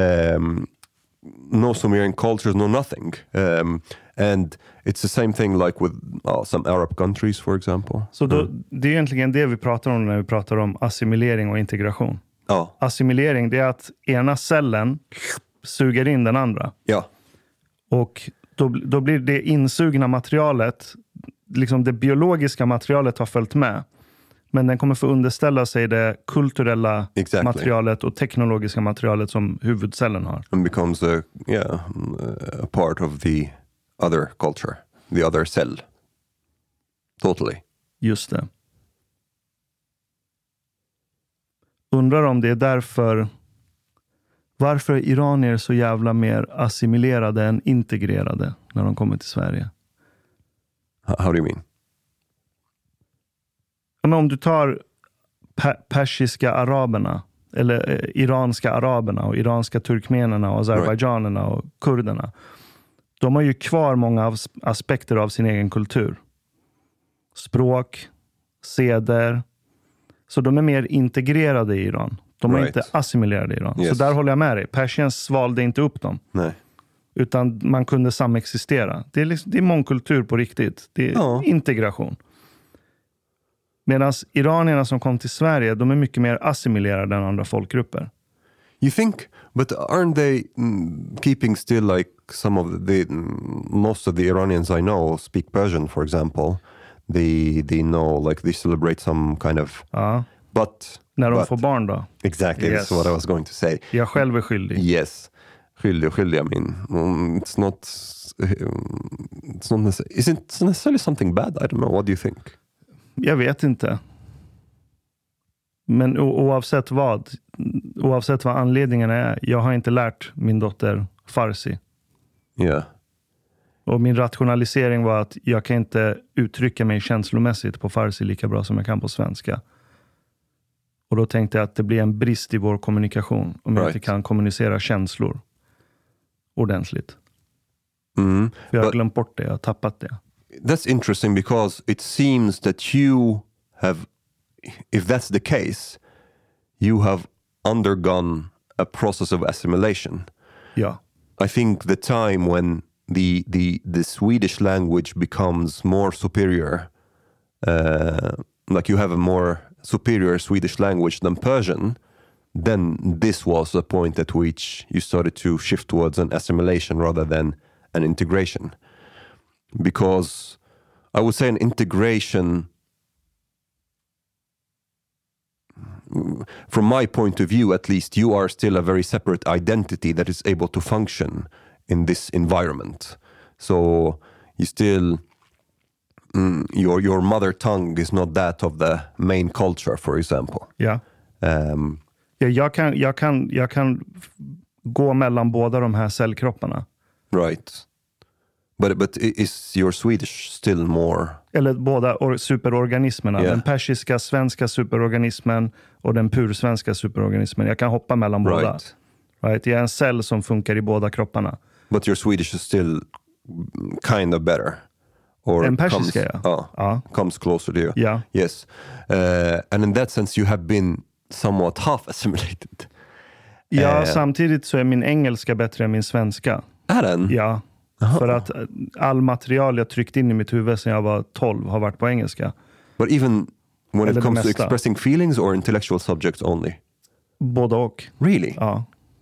No Sumerian cultures, no nothing. And it's the same thing like with some Arab countries, for example. Så det är egentligen det vi pratar om när vi pratar om assimilering och integration. Ja. Assimilering, det är att ena cellen suger in den andra. Ja. Och då blir det insugna materialet, liksom det biologiska materialet har följt med. Men den kommer få underställa sig det kulturella materialet och teknologiska materialet som huvudcellen har. And becomes a part of the other culture, the other cell. Totally. Just det. Undrar om det är därför... Varför är iranier så jävla mer assimilerade än integrerade när de kommer till Sverige? How do you mean? Men om du tar persiska araberna eller iranska araberna och iranska turkmenerna och azerbaijanerna och kurderna. De har ju kvar många aspekter av sin egen kultur. Språk, seder. Så de är mer integrerade i Iran. De är inte assimilerade i Iran. Yes. Så där håller jag med dig. Persiens svalde inte upp dem. Nej. Utan man kunde samexistera. Det är mångkultur på riktigt. Det är integration. Medan iranierna som kom till Sverige, de är mycket mer assimilerade än andra folkgrupper. You think, but aren't they keeping still like some of most of the Iranians I know speak Persian, for example. They know, like they celebrate some kind of... But... När de får barn då? Exactly, that's what I was going to say. Jag själv är skyldig. Yes. Skyldig, I mean. It's not necessarily... Is it necessarily something bad? I don't know. What do you think? Jag vet inte. Men oavsett vad anledningen är, jag har inte lärt min dotter farsi. Yeah. Och min rationalisering var att jag kan inte uttrycka mig känslomässigt på farsi lika bra som jag kan på svenska. Och då tänkte jag att det blir en brist i vår kommunikation om jag inte kan kommunicera känslor ordentligt. För jag har glömt bort det, jag har tappat det. That's interesting because it seems that you have, if that's the case, you have undergone a process of assimilation. Yeah. I think the time when the Swedish language becomes more superior, like you have a more superior Swedish language than Persian, then this was a point at which you started to shift towards an assimilation rather than an integration. Because I would say an integration, from my point of view at least, you are still a very separate identity that is able to function in this environment. So you still, your mother tongue is not that of the main culture, for example. Ja. Jag kan gå mellan båda de här cellkropparna. Right. But is your Swedish still more... Eller båda superorganismerna. Yeah. Den persiska, svenska superorganismen och den pursvenska superorganismen. Jag kan hoppa mellan båda. Right? Jag är en cell som funkar i båda kropparna. But your Swedish is still kind of better. Or en persiska, comes closer to you. Yeah. Yes. And in that sense you have been somewhat half assimilated. Ja, samtidigt så är min engelska bättre än min svenska. Är den? Ja. För att all material jag tryckt in i mitt huvud sedan jag var 12 har varit på engelska. But even when it comes to expressing feelings or intellectual subjects only? Både och. Really? Ja.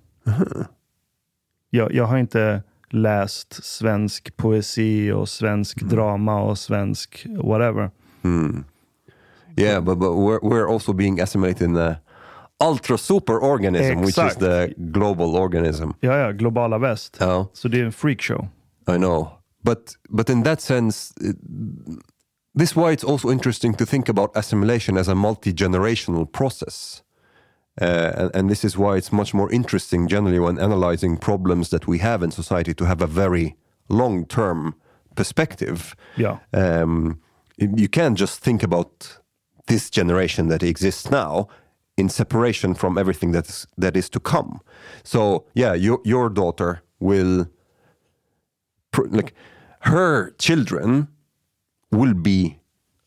Jag har inte läst svensk poesi och svensk drama och svensk whatever. Yeah, but we're also being assimilated in the ultra super organism, which is the global organism. Ja, globala väst. Ja. Så det är en freak show. I know. But in that sense, this is why it's also interesting to think about assimilation as a multi-generational process. And this is why it's much more interesting generally when analyzing problems that we have in society to have a very long-term perspective. Yeah. You can't just think about this generation that exists now in separation from everything that is to come. So yeah, your daughter will, like, her children will be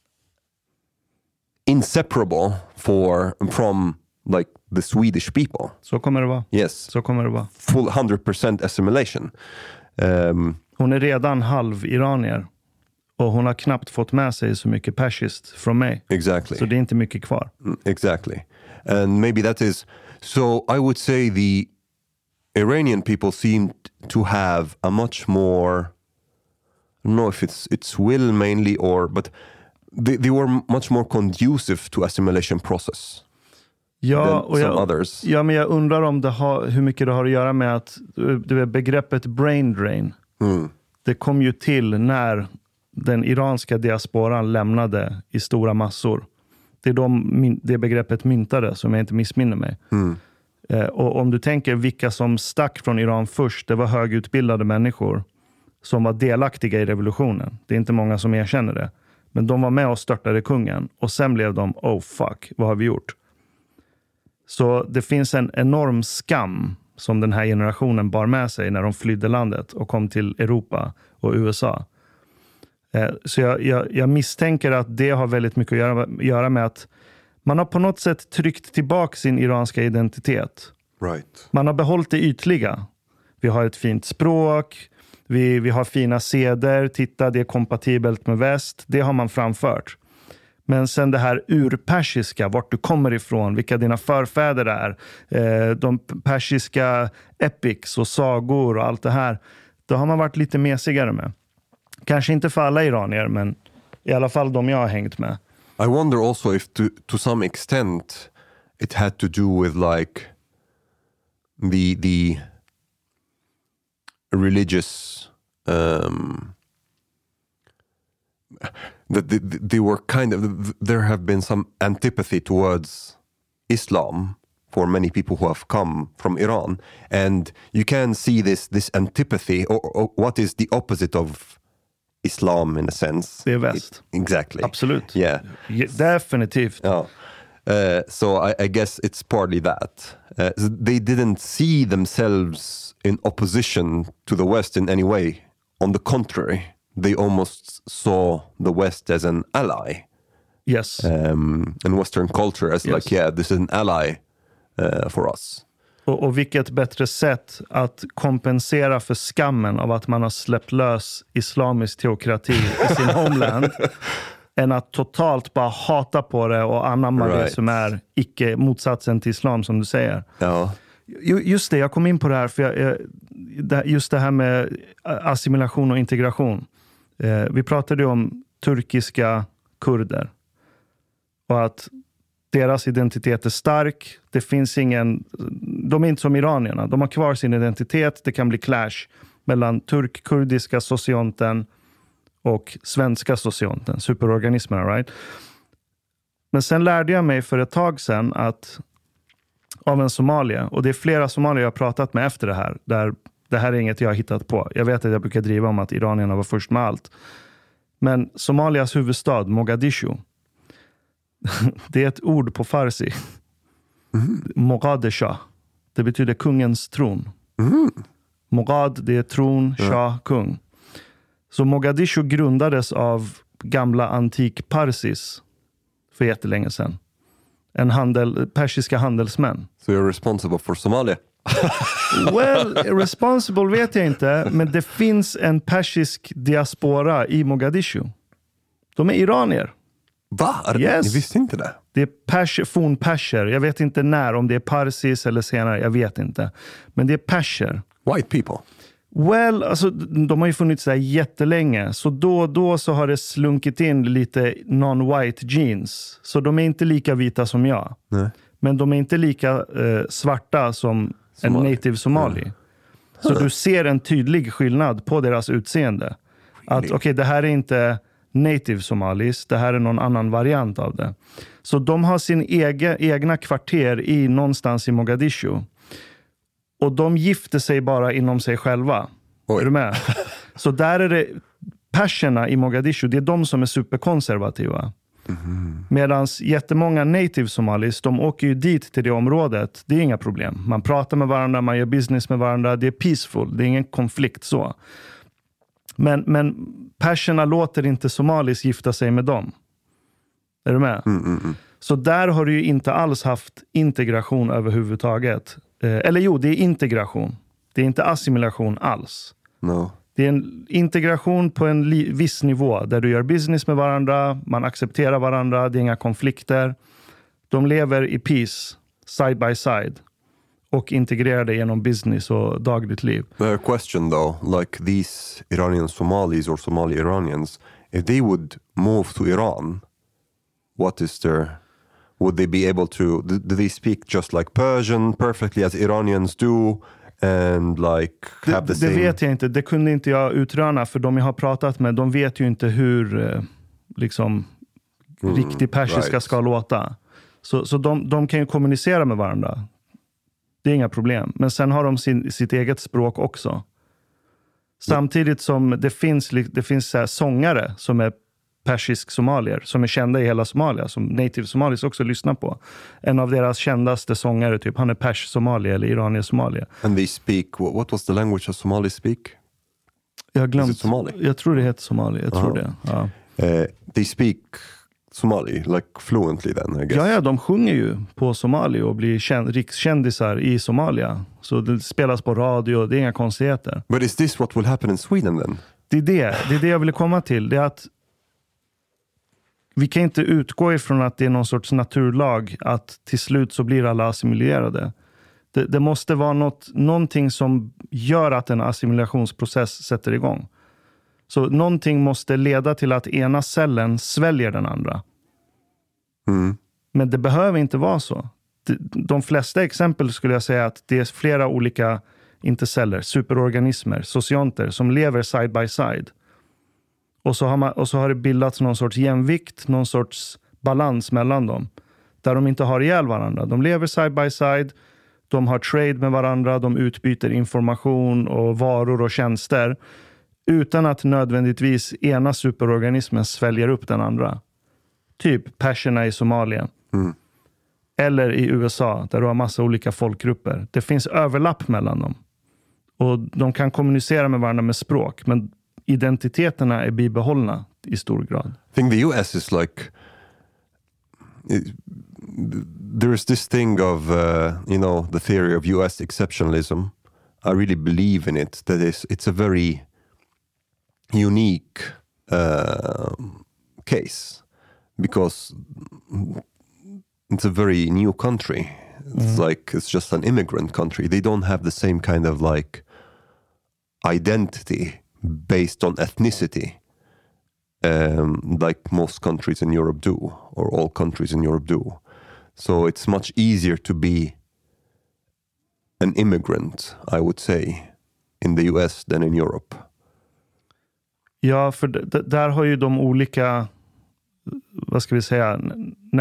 inseparable from like the Swedish people. Så kommer det vara. Yes. Så kommer det vara. Full 100% assimilation. Hon är redan halv iranier. Och hon har knappt fått med sig så mycket persiskt från mig. Exactly. Så det är inte mycket kvar. Exactly. And maybe that is... So I would say the Iranian people seem to have a much more... I don't know if it's will mainly or... But they were much more conducive to assimilation process. Ja, och others. Ja, men jag undrar om hur mycket det har att göra med att begreppet brain drain. Det kom ju till när den iranska diasporan lämnade i stora massor. Det är det begreppet myntade, som jag inte missminner mig. Och om du tänker vilka som stack från Iran först, det var högutbildade människor som var delaktiga i revolutionen. Det är inte många som erkänner det. Men de var med och störtade kungen. Och sen blev de, oh fuck, vad har vi gjort? Så det finns en enorm skam som den här generationen bar med sig när de flydde landet och kom till Europa och USA. Så jag misstänker att det har väldigt mycket att göra med att man har på något sätt tryckt tillbaka sin iranska identitet. Right. Man har behållit det ytliga. Vi har ett fint språk, vi har fina seder, titta det är kompatibelt med väst. Det har man framfört. Men sen det här urpersiska, vart du kommer ifrån, vilka dina förfäder är, de persiska epics och sagor och allt det här, då har man varit lite mesigare med. Kanske inte för alla iranier, men i alla fall de jag har hängt med. I wonder also if to some extent it had to do with like the religious that they were kind of, there have been some antipathy towards Islam for many people who have come from Iran, and you can see this antipathy or what is the opposite of Islam in a sense. Det är väst. Exactly. Absolut. Yeah. Definitivt. Yeah. So I guess it's partly that. So they didn't see themselves in opposition to the West in any way. On the contrary, they almost saw the West as an ally. Yes. And Western culture as like, yeah, this is an ally for us. Och vilket bättre sätt att kompensera för skammen av att man har släppt lös islamisk teokrati i sin homeland än att totalt bara hata på det och anamma det som är icke motsatsen till islam, som du säger. Ja. Just det, jag kom in på det här för just det här med assimilation och integration. Vi pratade ju om turkiska kurder och att deras identitet är stark. Det finns de är inte som iranierna. De har kvar sin identitet. Det kan bli clash mellan turk-kurdiska socionten och svenska socionten. Superorganismerna, right? Men sen lärde jag mig för ett tag sedan att av en somalier, och det är flera somalier jag har pratat med efter det här, där det här är inget jag har hittat på. Jag vet att jag brukar driva om att iranierna var först med allt. Men Somalias huvudstad, Mogadishu, det är ett ord på farsi. Mogadisha. Det betyder kungens tron. Mogad, det är tron, shah, kung. Så Mogadishu grundades av gamla antik Parsis för jättelänge sedan. Persiska handelsmän. So you're responsible for Somalia? Well, responsible vet jag inte, men det finns en persisk diaspora i Mogadishu. De är iranier. Va? Yes. Ni visste inte det? Det är fornperser. Jag vet inte när, om det är Parsis eller senare, jag vet inte. Men det är perser. White people? Well, alltså, de har ju funnits där jättelänge. Så då och då så har det slunkit in lite non-white genes. Så de är inte lika vita som jag. Nej. Men de är inte lika svarta som en native somali. Så du ser en tydlig skillnad på deras utseende. Att okej, det här är inte native somalis, det här är någon annan variant av det. Så de har sin egna kvarter någonstans i Mogadishu. Och de gifter sig bara inom sig själva. Oj. Är du med? Så där är det perserna i Mogadishu, det är de som är superkonservativa. Medan jättemånga native somalis, de åker ju dit till det området. Det är inga problem. Man pratar med varandra, man gör business med varandra. Det är peaceful, det är ingen konflikt så. Men perserna låter inte somalis gifta sig med dem. Är du med? Så där har du ju inte alls haft integration överhuvudtaget. Eller jo, det är integration. Det är inte assimilation alls. No. Det är en integration på en viss nivå där du gör business med varandra, man accepterar varandra, det är inga konflikter. De lever i peace, side by side, och integrerade genom business och dagligt liv. A question though, like these Iranian Somalis or Somali Iranians, if they would move to Iran, would they be able to, do they speak just like Persian perfectly as Iranians do? and like have the same... Det vet jag inte. Det kunde inte jag utröna, för de jag har pratat med, de vet ju inte hur riktig persiska ska låta. Så de kan ju kommunicera med varandra. Det är inga problem. Men sen har de sitt eget språk också. Samtidigt som det finns så här sångare som är persisk somalier, som är kända i hela Somalia, som native somalis också lyssnar på. En av deras kändaste sångare, typ, han är pers-somalier eller iranier-somalier. And they speak, what was the language of Somali speak? Jag har glömt. Somali? Jag tror det heter Somali, jag tror det. Ja. They speak Somali, like fluently then, I guess. Ja, de sjunger ju på somali och blir rikskändisar i Somalia. Så det spelas på radio, det är inga konstigheter. But is this what will happen in Sweden then? Det är det jag ville komma till. Det är att vi kan inte utgå ifrån att det är någon sorts naturlag att till slut så blir alla assimilerade. Det måste vara någonting som gör att en assimilationsprocess sätter igång. Så någonting måste leda till att ena cellen sväljer den andra. Men det behöver inte vara så. De flesta exempel skulle jag säga att det är flera olika, inte celler, superorganismer, socionter som lever side by side. Och så har det bildats någon sorts jämvikt, någon sorts balans mellan dem. Där de inte har ihjäl varandra. De lever side by side, de har trade med varandra, de utbyter information och varor och tjänster. Utan att nödvändigtvis ena superorganismen sväljer upp den andra. Typ perserna i Somalia. Eller i USA, där du har massa olika folkgrupper. Det finns överlapp mellan dem. Och de kan kommunicera med varandra med språk. Men identiteterna är bibehållna i stor grad. I think the US is like... There's this thing of, the theory of US exceptionalism. I really believe in it. That it's a very unique case. Because it's a very new country. It's just an immigrant country. They don't have the same kind of like identity based on ethnicity like most countries in Europe do, or all countries in Europe do. So it's much easier to be an immigrant, I would say, in the US than in Europe. Ja, för där har ju de olika, vad ska vi säga, när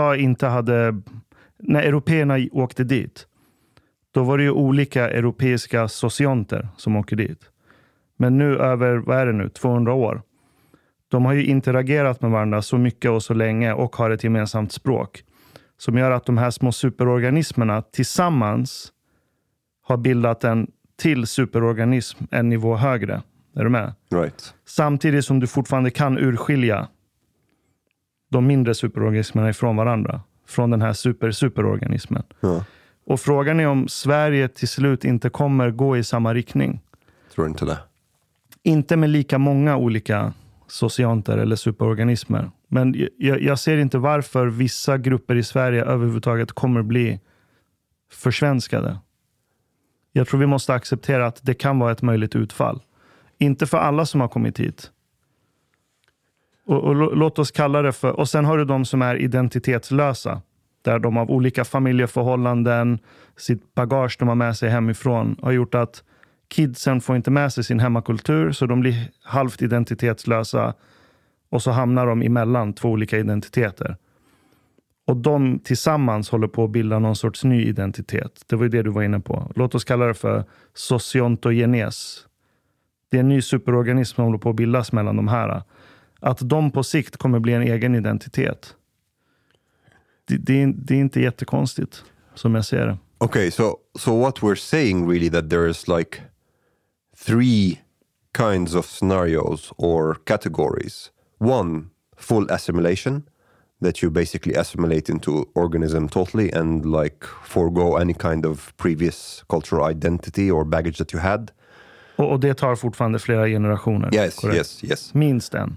européerna åkte dit, då var det ju olika europeiska socionter som åker dit. Men nu över, 200 år, de har ju interagerat med varandra så mycket och så länge och har ett gemensamt språk som gör att de här små superorganismerna tillsammans har bildat en till superorganism en nivå högre. Är du med? Right. Samtidigt som du fortfarande kan urskilja de mindre superorganismerna ifrån varandra. Från den här superorganismen. Ja. Och frågan är om Sverige till slut inte kommer gå i samma riktning. Tror inte det. Inte med lika många olika socionter eller superorganismer. Men jag ser inte varför vissa grupper i Sverige överhuvudtaget kommer bli försvenskade. Jag tror vi måste acceptera att det kan vara ett möjligt utfall. Inte för alla som har kommit hit. Och låt oss kalla det för... Och sen har du de som är identitetslösa. Där de av olika familjeförhållanden, sitt bagage de har med sig hemifrån, har gjort att kidsen får inte med sig sin hemmakultur, så de blir halvt identitetslösa och så hamnar de emellan två olika identiteter. Och de tillsammans håller på att bilda någon sorts ny identitet. Det var ju det du var inne på. Låt oss kalla det för sociontogenes. Det är en ny superorganism som håller på att bildas mellan de här. Att de på sikt kommer bli en egen identitet. Det är inte jättekonstigt som jag ser det. Okay, so what we're saying really that there's like 3 kinds of scenarios or categories. One, full assimilation, that you basically assimilate into organism totally and like forego any kind of previous cultural identity or baggage that you had. Och det tar fortfarande flera generationer. Yes. Minst en.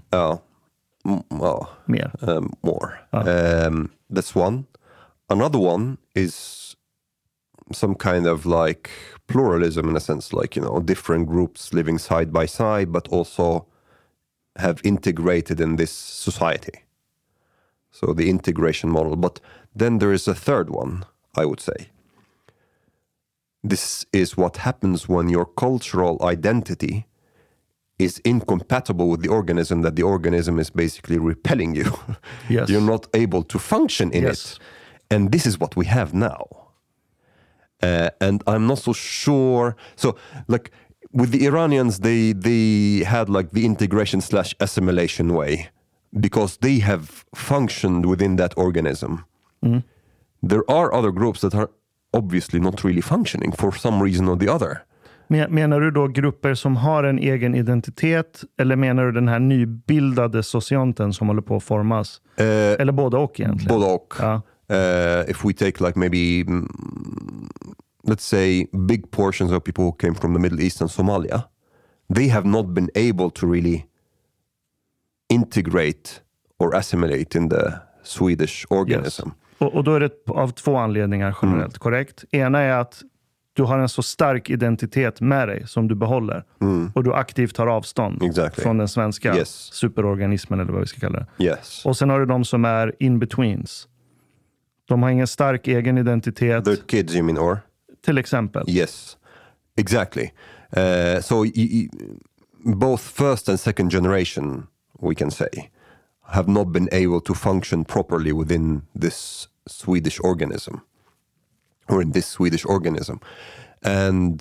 Mer. More. That's one. Another one is some kind of like pluralism in a sense, like, different groups living side by side, but also have integrated in this society. So the integration model. But then there is a third one, I would say. this is what happens when your cultural identity is incompatible with the organism, that the organism is basically repelling you. Yes. You're not able to function in it. And this is what we have now. And I'm not so sure. So, like, with the Iranians, they had like the integration/assimilation way, because they have functioned within that organism. There are other groups that are obviously not really functioning for some reason or the other. Menar du då grupper som har en egen identitet, eller menar du den här nybildade socianten som håller på att formas? Eller båda och egentligen? Båda och. Ja. If we take like maybe, let's say, big portions of people who came from the Middle East and Somalia, they have not been able to really integrate or assimilate in the Swedish organism. Yes. Och då är det av två anledningar generellt, korrekt? Ena är att du har en så stark identitet med dig som du behåller. Och du aktivt tar avstånd från den svenska superorganismen, eller vad vi ska kalla det. Yes. Och sen har du de som är in-betweens. De har ingen stark egen identitet. The kids, you mean, or? Till exempel. Yes, exactly. So both first and second generation, we can say, have not been able to function properly within this Swedish organism, or in this Swedish organism. And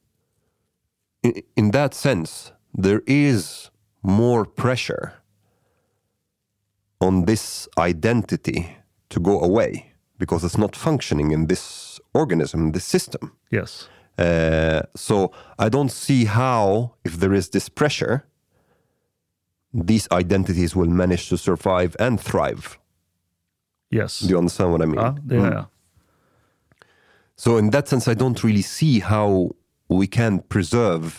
in that sense, there is more pressure on this identity to go away, because it's not functioning in this organism, this system. Yes. So I don't see how, if there is this pressure, these identities will manage to survive and thrive. Yes. Do you understand what I mean? Ja, det gör jag. So in that sense, I don't really see how we can preserve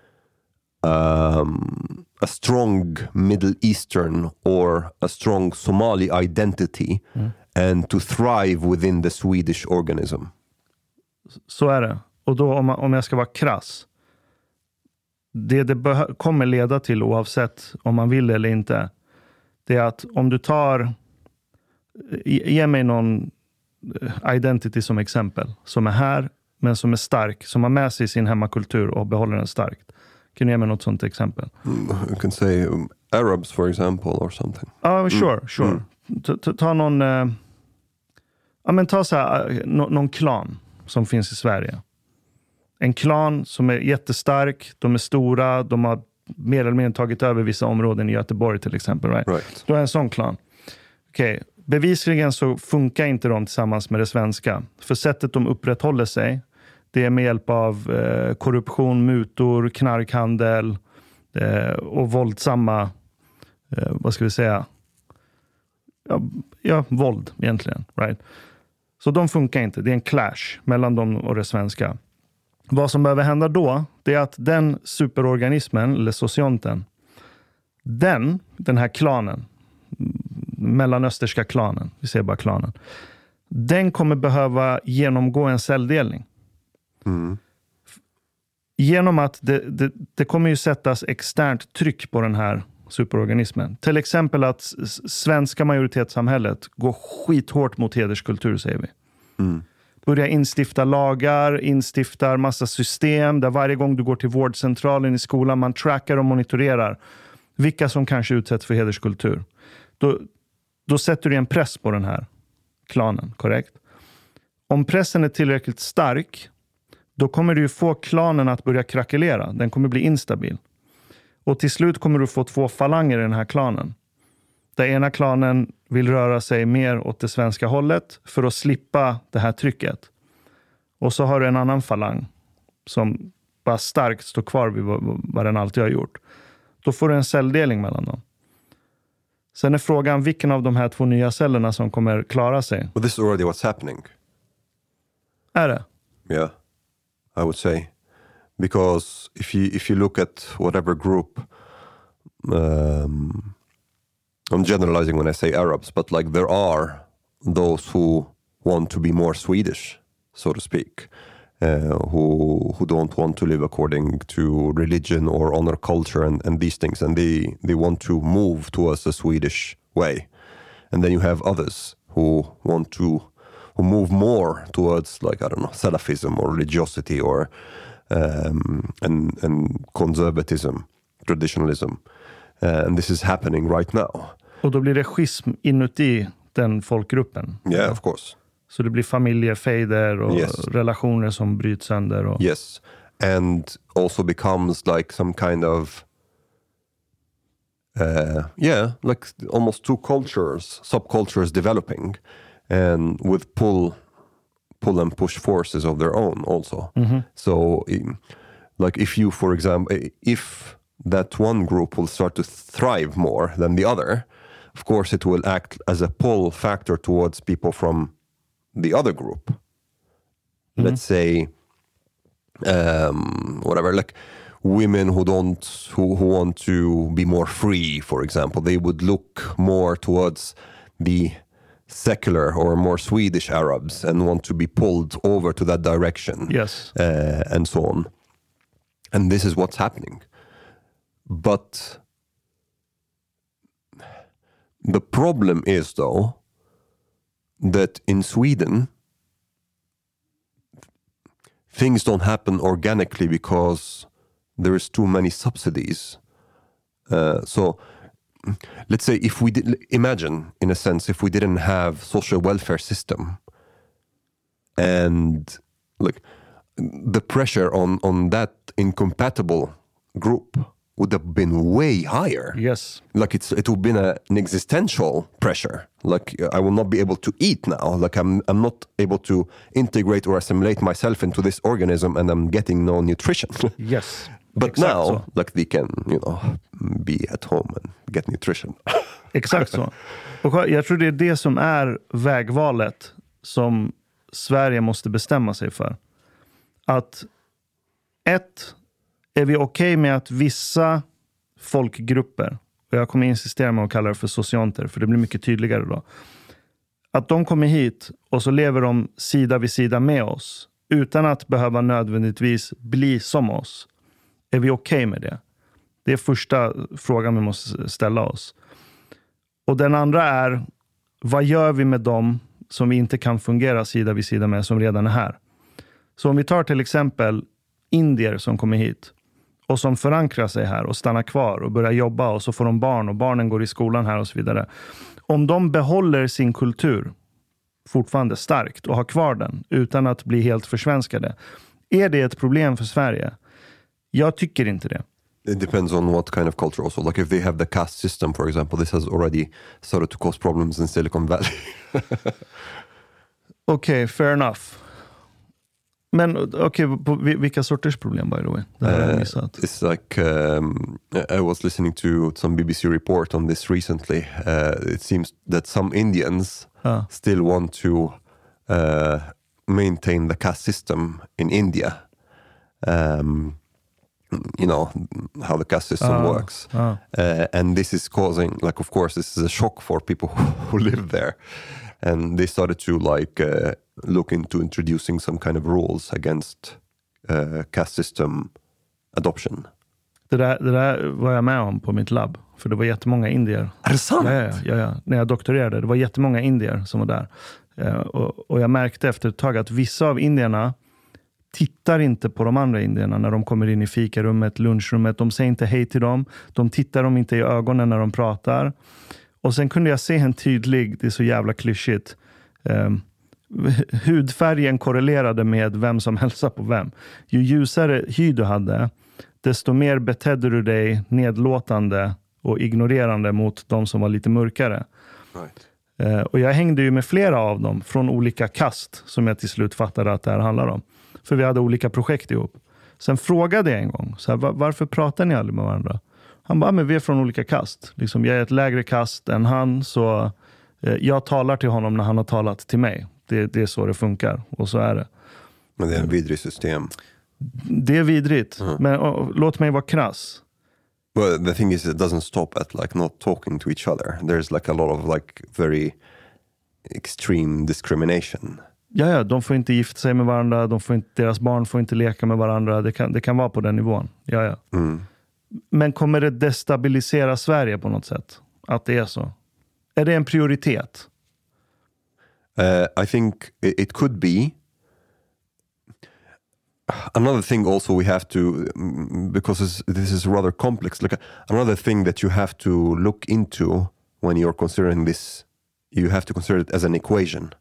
a strong Middle Eastern or a strong Somali identity and to thrive within the Swedish organism. Så är det. Och då om jag ska vara krass, det kommer leda till, oavsett om man vill eller inte, det är att om du tar, ge mig någon identity som exempel, som är här men som är stark, som har med sig sin hemmakultur och behåller den starkt. Kan du ge mig något sånt exempel? You can say Arabs, for example, or something. Sure. Ta någon, men ta så här, någon klan som finns i Sverige. En klan som är jättestark, de är stora, de har mer eller mindre tagit över vissa områden i Göteborg till exempel. Right? Då är en sån klan. Okej. Bevisligen så funkar inte de tillsammans med det svenska. För sättet de upprätthåller sig, det är med hjälp av korruption, mutor, knarkhandel och våldsamma, vad ska vi säga, våld egentligen. Right? Så de funkar inte. Det är en clash mellan dem och det svenska. Vad som behöver hända då, det är att den superorganismen, eller socianten, den här klanen, mellanösterska klanen, vi säger bara klanen, den kommer behöva genomgå en celldelning. Genom att det kommer ju sättas externt tryck på den här superorganismen. Till exempel att svenska majoritetssamhället går skithårt mot hederskultur, säger vi. Börjar instifta lagar, instiftar massa system där varje gång du går till vårdcentralen i skolan, man trackar och monitorerar vilka som kanske utsätts för hederskultur. Då sätter du en press på den här klanen, korrekt? Om pressen är tillräckligt stark, då kommer du ju få klanen att börja krackelera. Den kommer bli instabil. Och till slut kommer du få två falanger i den här klanen. Där ena klanen vill röra sig mer åt det svenska hållet för att slippa det här trycket. Och så har du en annan falang som bara starkt står kvar vid vad den alltid har gjort. Då får du en celldelning mellan dem. Sen är frågan vilken av de här två nya cellerna som kommer klara sig. But this is already what's happening. Är det? Yeah, I would say. Because if you look at whatever group, I'm generalizing when I say Arabs, but like there are those who want to be more Swedish, so to speak, who don't want to live according to religion or honor culture and these things, and they want to move towards a Swedish way. And then you have others who want to who move more towards like, I don't know, Salafism or religiosity or and conservatism, traditionalism. And this is happening right now. Och då blir det schism inuti den folkgruppen. Yeah, of course. Så det blir familjefejder och relationer som bryts sönder. Och... Yes, and also becomes like some kind of like almost two cultures, subcultures developing, and with pull and push forces of their own also. So like if you, for example, if that one group will start to thrive more than the other, of course it will act as a pull factor towards people from the other group. Let's say whatever, like women who want to be more free, for example, they would look more towards the secular or more Swedish Arabs and want to be pulled over to that direction. Yes. And so on. And this is what's happening. But the problem is, though, that in Sweden, things don't happen organically because there is too many subsidies. So let's say if we imagine, in a sense, if we didn't have social welfare system, and like the pressure on that incompatible group would have been way higher. Yes. Like it would have been an existential pressure. Like I will not be able to eat now. Like I'm not able to integrate or assimilate myself into this organism, and I'm getting no nutrition. Yes. But Exakt now, så. like they can, be at home and get nutrition. Exakt så. Och jag tror det är det som är vägvalet som Sverige måste bestämma sig för. Att är vi okej med att vissa folkgrupper, och jag kommer insistera med att kalla det för socianter, för det blir mycket tydligare då, att de kommer hit och så lever de sida vid sida med oss utan att behöva nödvändigtvis bli som oss. Är vi okej med det? Det är första frågan vi måste ställa oss. Och den andra är, vad gör vi med dem som vi inte kan fungera sida vid sida med, som redan är här? Så om vi tar till exempel indier som kommer hit och som förankrar sig här och stannar kvar och börjar jobba, och så får de barn och barnen går i skolan här och så vidare. Om de behåller sin kultur fortfarande starkt och har kvar den utan att bli helt försvenskade, är det ett problem för Sverige? Jag tycker inte det. It depends on what kind of culture also. Like if they have the caste system, for example, this has already started to cause problems in Silicon Valley. Okej, fair enough. Men vilka sorters problem, by the way? Det har jag missat. It's like I was listening to some BBC report on this recently. It seems that some Indians still want to maintain the caste system in India. You know how the caste system works. And this is causing, like, of course, this is a shock for people who live there. And they started to look into introducing some kind of rules against caste system adoption. Det där var jag med om på mitt labb. För det var jättemånga indier. Är det sant? Ja. När jag doktorerade. Det var jättemånga indier som var där. Och jag märkte efter ett tag att vissa av indierna tittar inte på de andra indierna när de kommer in i fikarummet, lunchrummet. De säger inte hej till dem. De tittar dem inte i ögonen när de pratar. Och sen kunde jag se en tydlig, det är så jävla klyschigt, hudfärgen korrelerade med vem som hälsar på vem. Ju ljusare hy du hade, desto mer betedde du dig nedlåtande och ignorerande mot de som var lite mörkare. Right. Och jag hängde ju med flera av dem från olika kast som jag till slut fattade att det här handlar om. För vi hade olika projekt ihop. Sen frågade jag en gång, så här, varför pratar ni aldrig med varandra? Han bara, men vi är från olika kast. Liksom, jag är ett lägre kast än han, så jag talar till honom när han har talat till mig. Det är så det funkar, och så är det. Men det är en vidrig system. Det är vidrigt, men låt mig vara krass. Well, the thing is, it doesn't stop at like not talking to each other. There's like a lot of like very extreme discrimination. Ja, de får inte gifta sig med varandra, deras barn får inte leka med varandra. Det kan vara på den nivån. Ja. Men kommer det destabilisera Sverige på något sätt? Att det är så? Är det en prioritet? I think it could be. Another thing also we have to, because this is rather complex, like another thing that you have to look into when you're considering this, you have to consider it as an equation.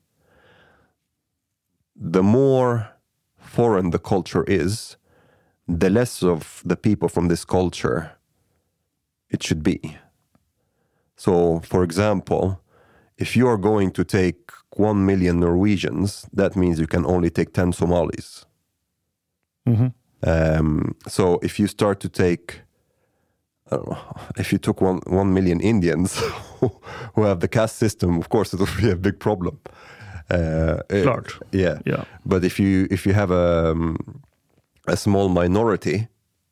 The more foreign the culture is, the less of the people from this culture it should be. So, for example, if you are going to take 1 million Norwegians, that means you can only take 10 Somalis. So if you start to take, I don't know, if you took 1 million Indians who have the caste system, of course it would be a big problem. Klart. Yeah. But if you have a small minority,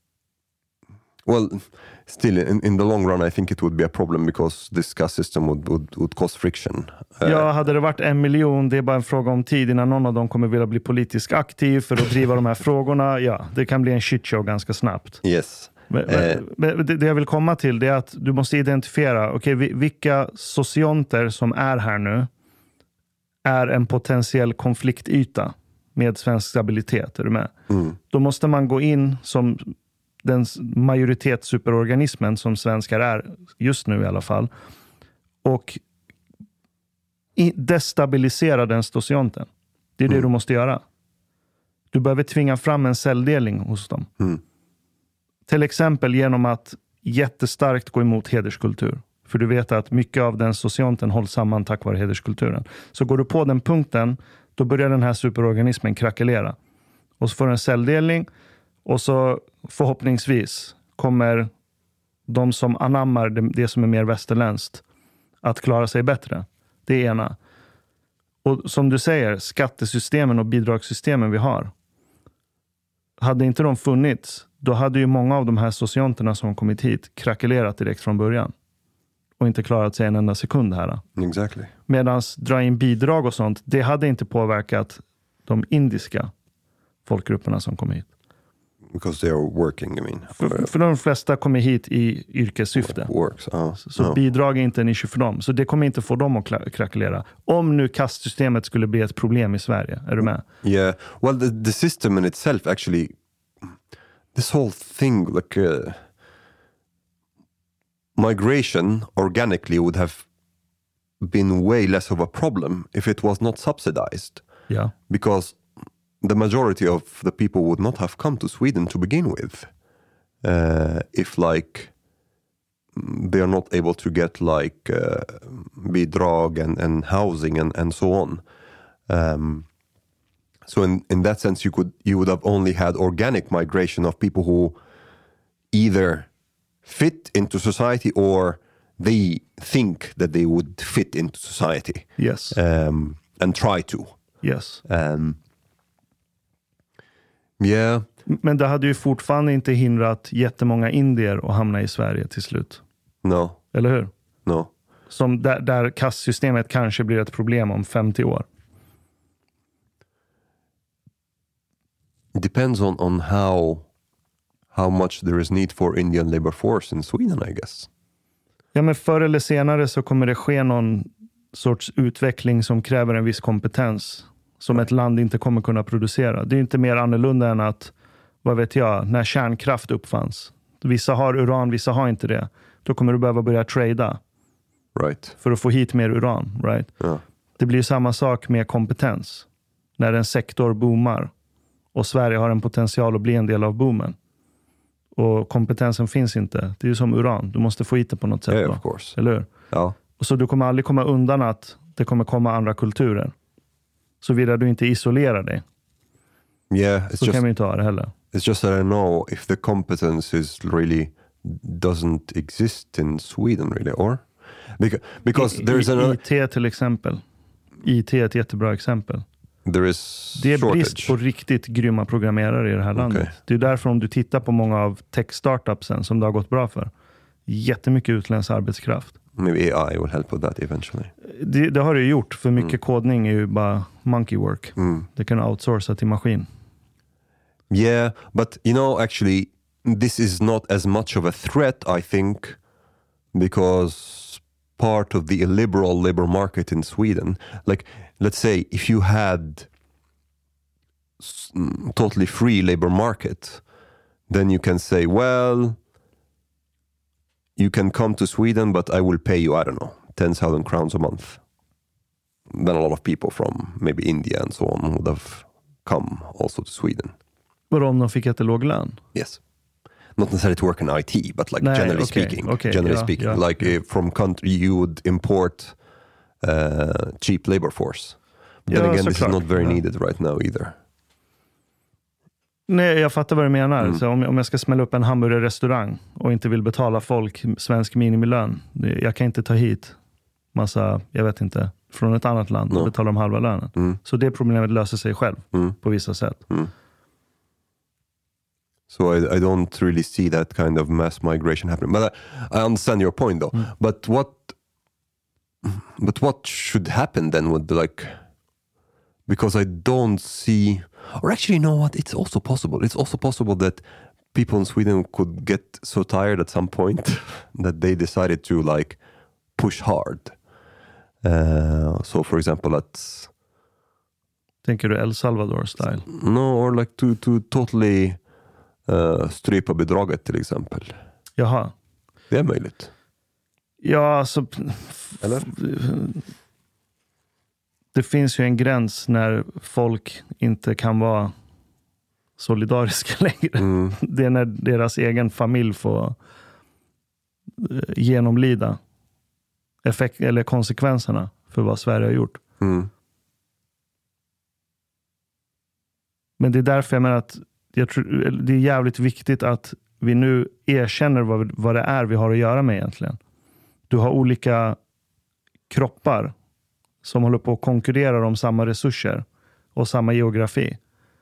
well, still in the long run I think it would be a problem because this caste system would cause friction. Ja, hade det varit 1 miljon, det är bara en fråga om tid innan någon av dem kommer vilja bli politiskt aktiv för att driva de här frågorna. Ja, det kan bli en shitshow ganska snabbt. Yes. Men det jag vill komma till det är att du måste identifiera vilka socionter som är här nu är en potentiell konfliktyta med svensk stabilitet. Är du med? Då måste man gå in som den majoritetssuperorganismen som svenskar är just nu i alla fall och destabilisera den socionten. Det är det du måste göra. Du behöver tvinga fram en celldelning hos dem. Till exempel genom att jättestarkt gå emot hederskultur. För du vet att mycket av den socionten hålls samman tack vare hederskulturen. Så går du på den punkten, då börjar den här superorganismen krackelera. Och så får du en celldelning och så förhoppningsvis kommer de som anammar det som är mer västerländskt att klara sig bättre. Det är ena. Och som du säger, skattesystemen och bidragssystemen vi har. Hade inte de funnits, då hade ju många av de här socionterna som kommit hit krackelerat direkt från början. Och inte klarat sig en enda sekund här. Exactly. Medans dra in bidrag och sånt, det hade inte påverkat de indiska folkgrupperna som kom hit. Because they are working, I mean. För de flesta kommer hit i yrkessyfte. Så bidrag är inte en issue för dem. Så det kommer inte få dem att krackelera. Om nu kastsystemet skulle bli ett problem i Sverige. Är du med? Yeah. Well, the system in itself actually, this whole thing, like migration organically would have been way less of a problem if it was not subsidized. Yeah. Because the majority of the people would not have come to Sweden to begin with, if like they are not able to get like bidrag and housing and so on. So in that sense, you would have only had organic migration of people who either fit into society or they think that they would fit into society. Yes. And try to. Yes. Yeah. Men det hade ju fortfarande inte hindrat jättemånga indier att hamna i Sverige till slut. No. Eller hur? No. Som där kastsystemet kanske blir ett problem om 50 år. It depends on how much there is need for Indian labor force in Sweden, I guess. Ja, men förr eller senare så kommer det ske någon sorts utveckling som kräver en viss kompetens som ett land inte kommer kunna producera. Det är inte mer annorlunda än att, vad vet jag, när kärnkraft uppfanns. Vissa har uran, vissa har inte det. Då kommer du behöva börja trada. Right. För att få hit mer uran, right? Yeah. Det blir samma sak med kompetens. När en sektor boomar och Sverige har en potential att bli en del av boomen. Och kompetensen finns inte. Det är ju som uran. Du måste få hit det på något sätt. Yeah, of course. Eller hur? Ja. Och så du kommer aldrig komma undan att det kommer komma andra kulturer. Såvida du inte isolerar dig. Yeah, så kan vi inte ha det heller. It's just that I know if the competence is really doesn't exist in Sweden really, or? Because there is another... IT till exempel. IT är ett jättebra exempel. Det är brist på riktigt grymma programmerare i det här landet. Okay. Det är därför om du tittar på många av tech-startupsen som det har gått bra för. Jättemycket utländsk arbetskraft. Maybe AI will help with that eventually. Det har det ju gjort, för mycket kodning är ju bara monkey work. Det kan outsourca till maskin. Yeah, but you know, actually this is not as much of a threat, I think, because part of the illiberal labor market in Sweden. Like, let's say if you had totally free labor market, then you can say, well, you can come to Sweden, but I will pay you, I don't know, 10,000 crowns a month. Then a lot of people from maybe India and so on would have come also to Sweden. But om de fick jättelåg lön? Yes. Not necessarily to work in IT, but like generally speaking, like from country you would import cheap labor force. But then again, this is not very needed right now either. Nej, jag fattar vad du menar. Så om jag ska smälla upp en hamburgerrestaurang och inte vill betala folk svensk minimilön, jag kan inte ta hit massa, jag vet inte, från ett annat land och betala dem halva lönen. Så det problemet löser sig själv på vissa sätt. So I don't really see that kind of mass migration happening. But I understand your point though. But what should happen then with because I don't see, or actually, you know what? It's also possible. It's also possible that people in Sweden could get so tired at some point that they decided to like push hard. So for example, tänker du El Salvador style? No, or like to totally strypa bidraget till exempel. Jaha. Det är möjligt. Ja, alltså... Eller? Det finns ju en gräns när folk inte kan vara solidariska längre. Det är när deras egen familj får genomlida eller konsekvenserna för vad Sverige har gjort. Men det är därför jag menar att jag tror det är jävligt viktigt att vi nu erkänner vad det är vi har att göra med egentligen. Du har olika kroppar som håller på att konkurrera om samma resurser och samma geografi.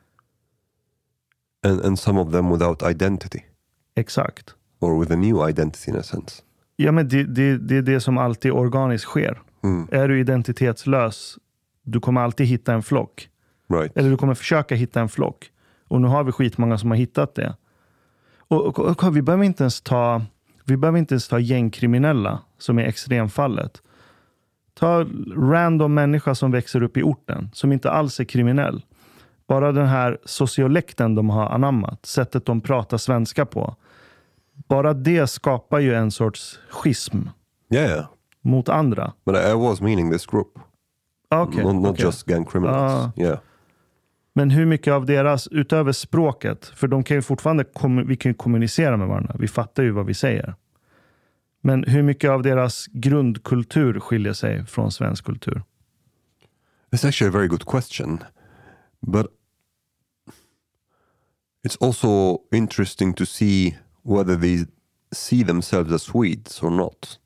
And some of them without identity. Exakt. Or with a new identity in a sense. Ja, men det är det som alltid organiskt sker. Är du identitetslös, du kommer alltid hitta en flock. Right. Eller du kommer försöka hitta en flock. Och nu har vi skitmånga som har hittat det. Och vi behöver inte ens ta gängkriminella som är extremfallet. Ta random människa som växer upp i orten, som inte alls är kriminell. Bara den här sociolekten de har anammat, sättet de pratar svenska på. Bara det skapar ju en sorts schism mot andra. But I was meaning this group. Not just gang criminals. Men hur mycket av deras, utöver språket, för de kan ju fortfarande vi kan ju kommunicera med varandra. Vi fattar ju vad vi säger. Men hur mycket av deras grundkultur skiljer sig från svensk kultur? It's actually a very good question. But it's also interesting to see whether they see themselves as Swedes or not.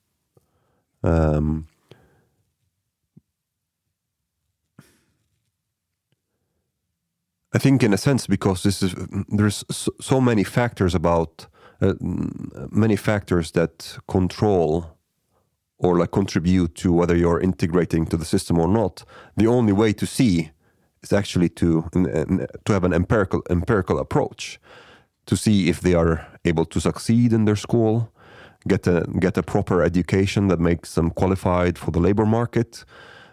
I think in a sense because there's so many factors about many factors that control or like contribute to whether you're integrating to the system or not. The only way to see is actually to have an empirical approach to see if they are able to succeed in their school, get a proper education that makes them qualified for the labor market,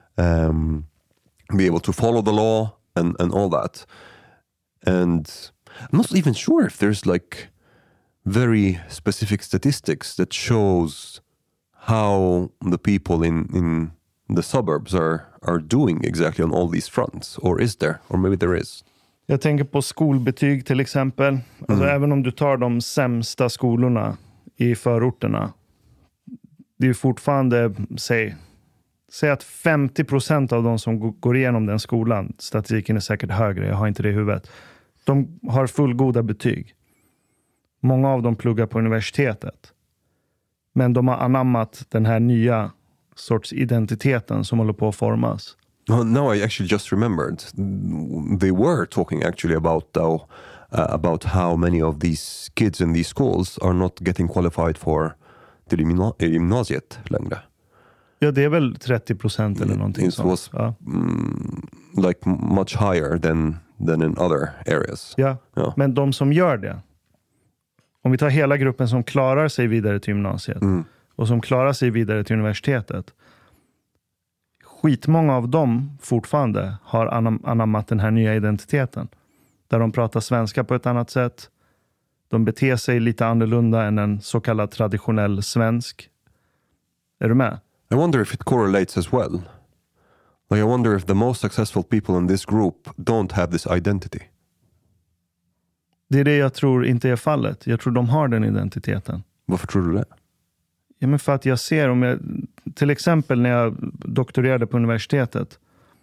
be able to follow the law and all that. And I'm not even sure if there's like very specific statistics that shows how the people in the suburbs are doing exactly on all these fronts. Or is there? Or maybe there is. Jag tänker på skolbetyg till exempel. Alltså även om du tar de sämsta skolorna i förorterna. Det är fortfarande, säg att 50% av de som går igenom den skolan, statistiken är säkert högre, jag har inte det i huvudet. De har fullgoda betyg. Många av dem pluggar på universitetet. Men de har anammat den här nya sorts identiteten som håller på att formas. Now I actually just remembered. They were talking actually about how many of these kids in these schools are not getting qualified for till gymnasiet längre. Ja, det är väl 30% eller någonting sånt. It was like much higher than in other areas. Ja, men de som gör det, om vi tar hela gruppen som klarar sig vidare till gymnasiet, och som klarar sig vidare till universitetet. Skitmånga av dem fortfarande har anammat den här nya identiteten. Där de pratar svenska på ett annat sätt. De beter sig lite annorlunda än en så kallad traditionell svensk. Är du med? I wonder if it correlates as well. Like, I wonder if the most successful people in this group don't have this identity. Det är det jag tror inte är fallet. Jag tror de har den identiteten. Varför tror du det? Ja, men för att jag ser till exempel när jag doktorerade på universitetet.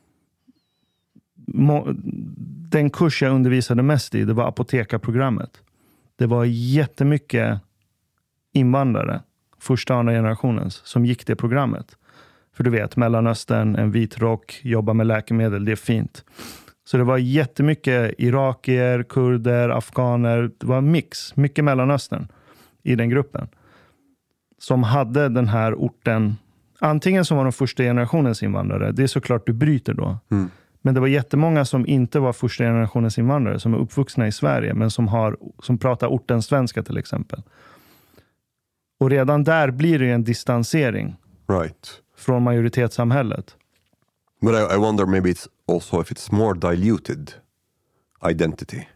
Den kurs jag undervisade mest i, det var apotekarprogrammet. Det var jättemycket invandrare, första och andra generationens, som gick det programmet. För du vet, Mellanöstern, en vit rock, jobba med läkemedel, det är fint. Så det var jättemycket irakier, kurder, afghaner, det var en mix, mycket Mellanöstern i den gruppen. Som hade den här orten, antingen som var de första generationens invandrare, det är såklart du bryter då. Mm. Men det var jättemånga som inte var första generationens invandrare, som är uppvuxna i Sverige, men som pratar ortens svenska till exempel. Och redan där blir det en distansering från majoritetssamhället. But I wonder maybe it's also if it's more diluted identity.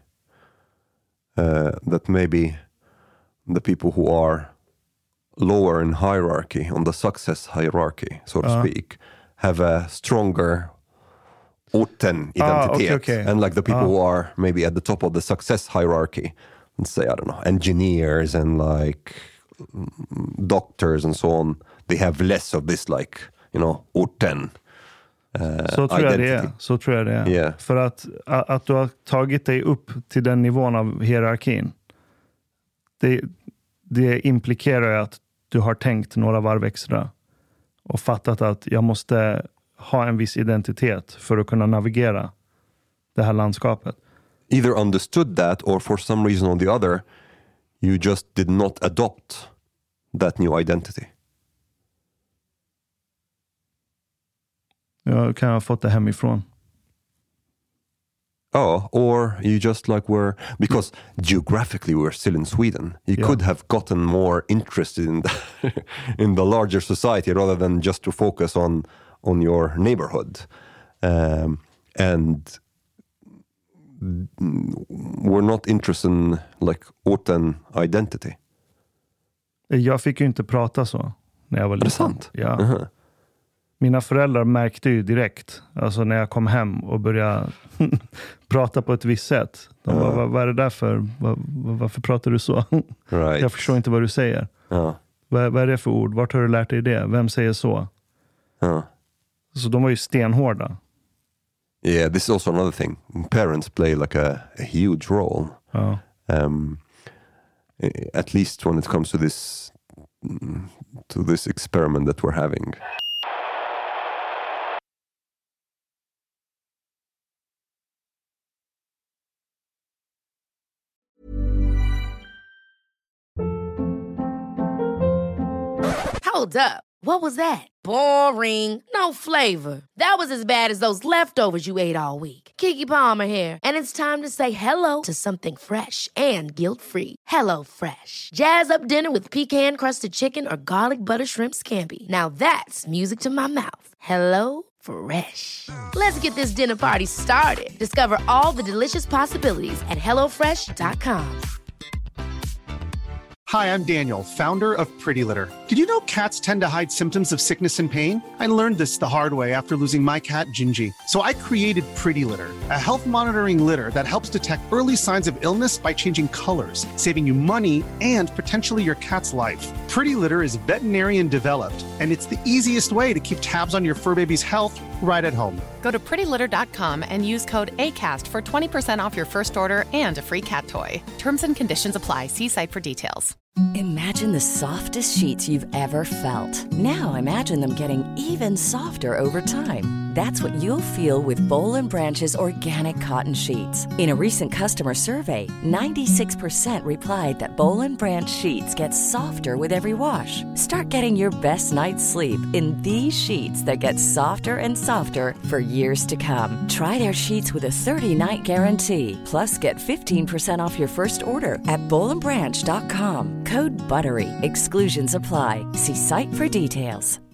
That maybe the people who are lower in hierarchy, on the success hierarchy, so to speak, have a stronger orten identitet. Okay. And like the people who are maybe at the top of the success hierarchy, let's say, I don't know, engineers and like doctors and so on, they have less of this like, you know, orten så tror jag det är. Så tror jag det är. Yeah. För att du har tagit dig upp till den nivån av hierarkin, det implikerar att du har tänkt några varv extra och fattat att jag måste ha en viss identitet för att kunna navigera det här landskapet. Either understood that or for some reason or the other you just did not adopt that new identity. Jag kan ha fått det hemifrån. Oh, or you just like were, because geographically we're still in Sweden. You could have gotten more interested in the larger society rather than just to focus on your neighborhood. And we're not interested in like orten identity. Jag fick ju inte prata så när jag var liten. Är det sant? Ja. Uh-huh. Mina föräldrar märkte ju direkt, alltså när jag kom hem och började prata på ett visst sätt. De bara, vad är det där för? Varför pratar du så? Right. Jag förstår inte vad du säger. Vad är det för ord? Vart har du lärt dig det? Vem säger så? Så de var ju stenhårda. Yeah, this is also another thing. Parents play like a huge role. At least when it comes to this experiment that we're having. Hold up. What was that? Boring. No flavor. That was as bad as those leftovers you ate all week. Keke Palmer here, and it's time to say hello to something fresh and guilt-free. Hello Fresh. Jazz up dinner with pecan-crusted chicken or garlic butter shrimp scampi. Now that's music to my mouth. Hello Fresh. Let's get this dinner party started. Discover all the delicious possibilities at hellofresh.com. Hi, I'm Daniel, founder of Pretty Litter. Did you know cats tend to hide symptoms of sickness and pain? I learned this the hard way after losing my cat, Gingy. So I created Pretty Litter, a health monitoring litter that helps detect early signs of illness by changing colors, saving you money and potentially your cat's life. Pretty Litter is veterinarian developed, and it's the easiest way to keep tabs on your fur baby's health right at home. Go to prettylitter.com and use code ACAST for 20% off your first order and a free cat toy. Terms and conditions apply. See site for details. Imagine the softest sheets you've ever felt. Now imagine them getting even softer over time. That's what you'll feel with Boll & Branch's organic cotton sheets. In a recent customer survey, 96% replied that Boll & Branch sheets get softer with every wash. Start getting your best night's sleep in these sheets that get softer and softer for years to come. Try their sheets with a 30-night guarantee. Plus, get 15% off your first order at bollandbranch.com. Code BUTTERY. Exclusions apply. See site for details.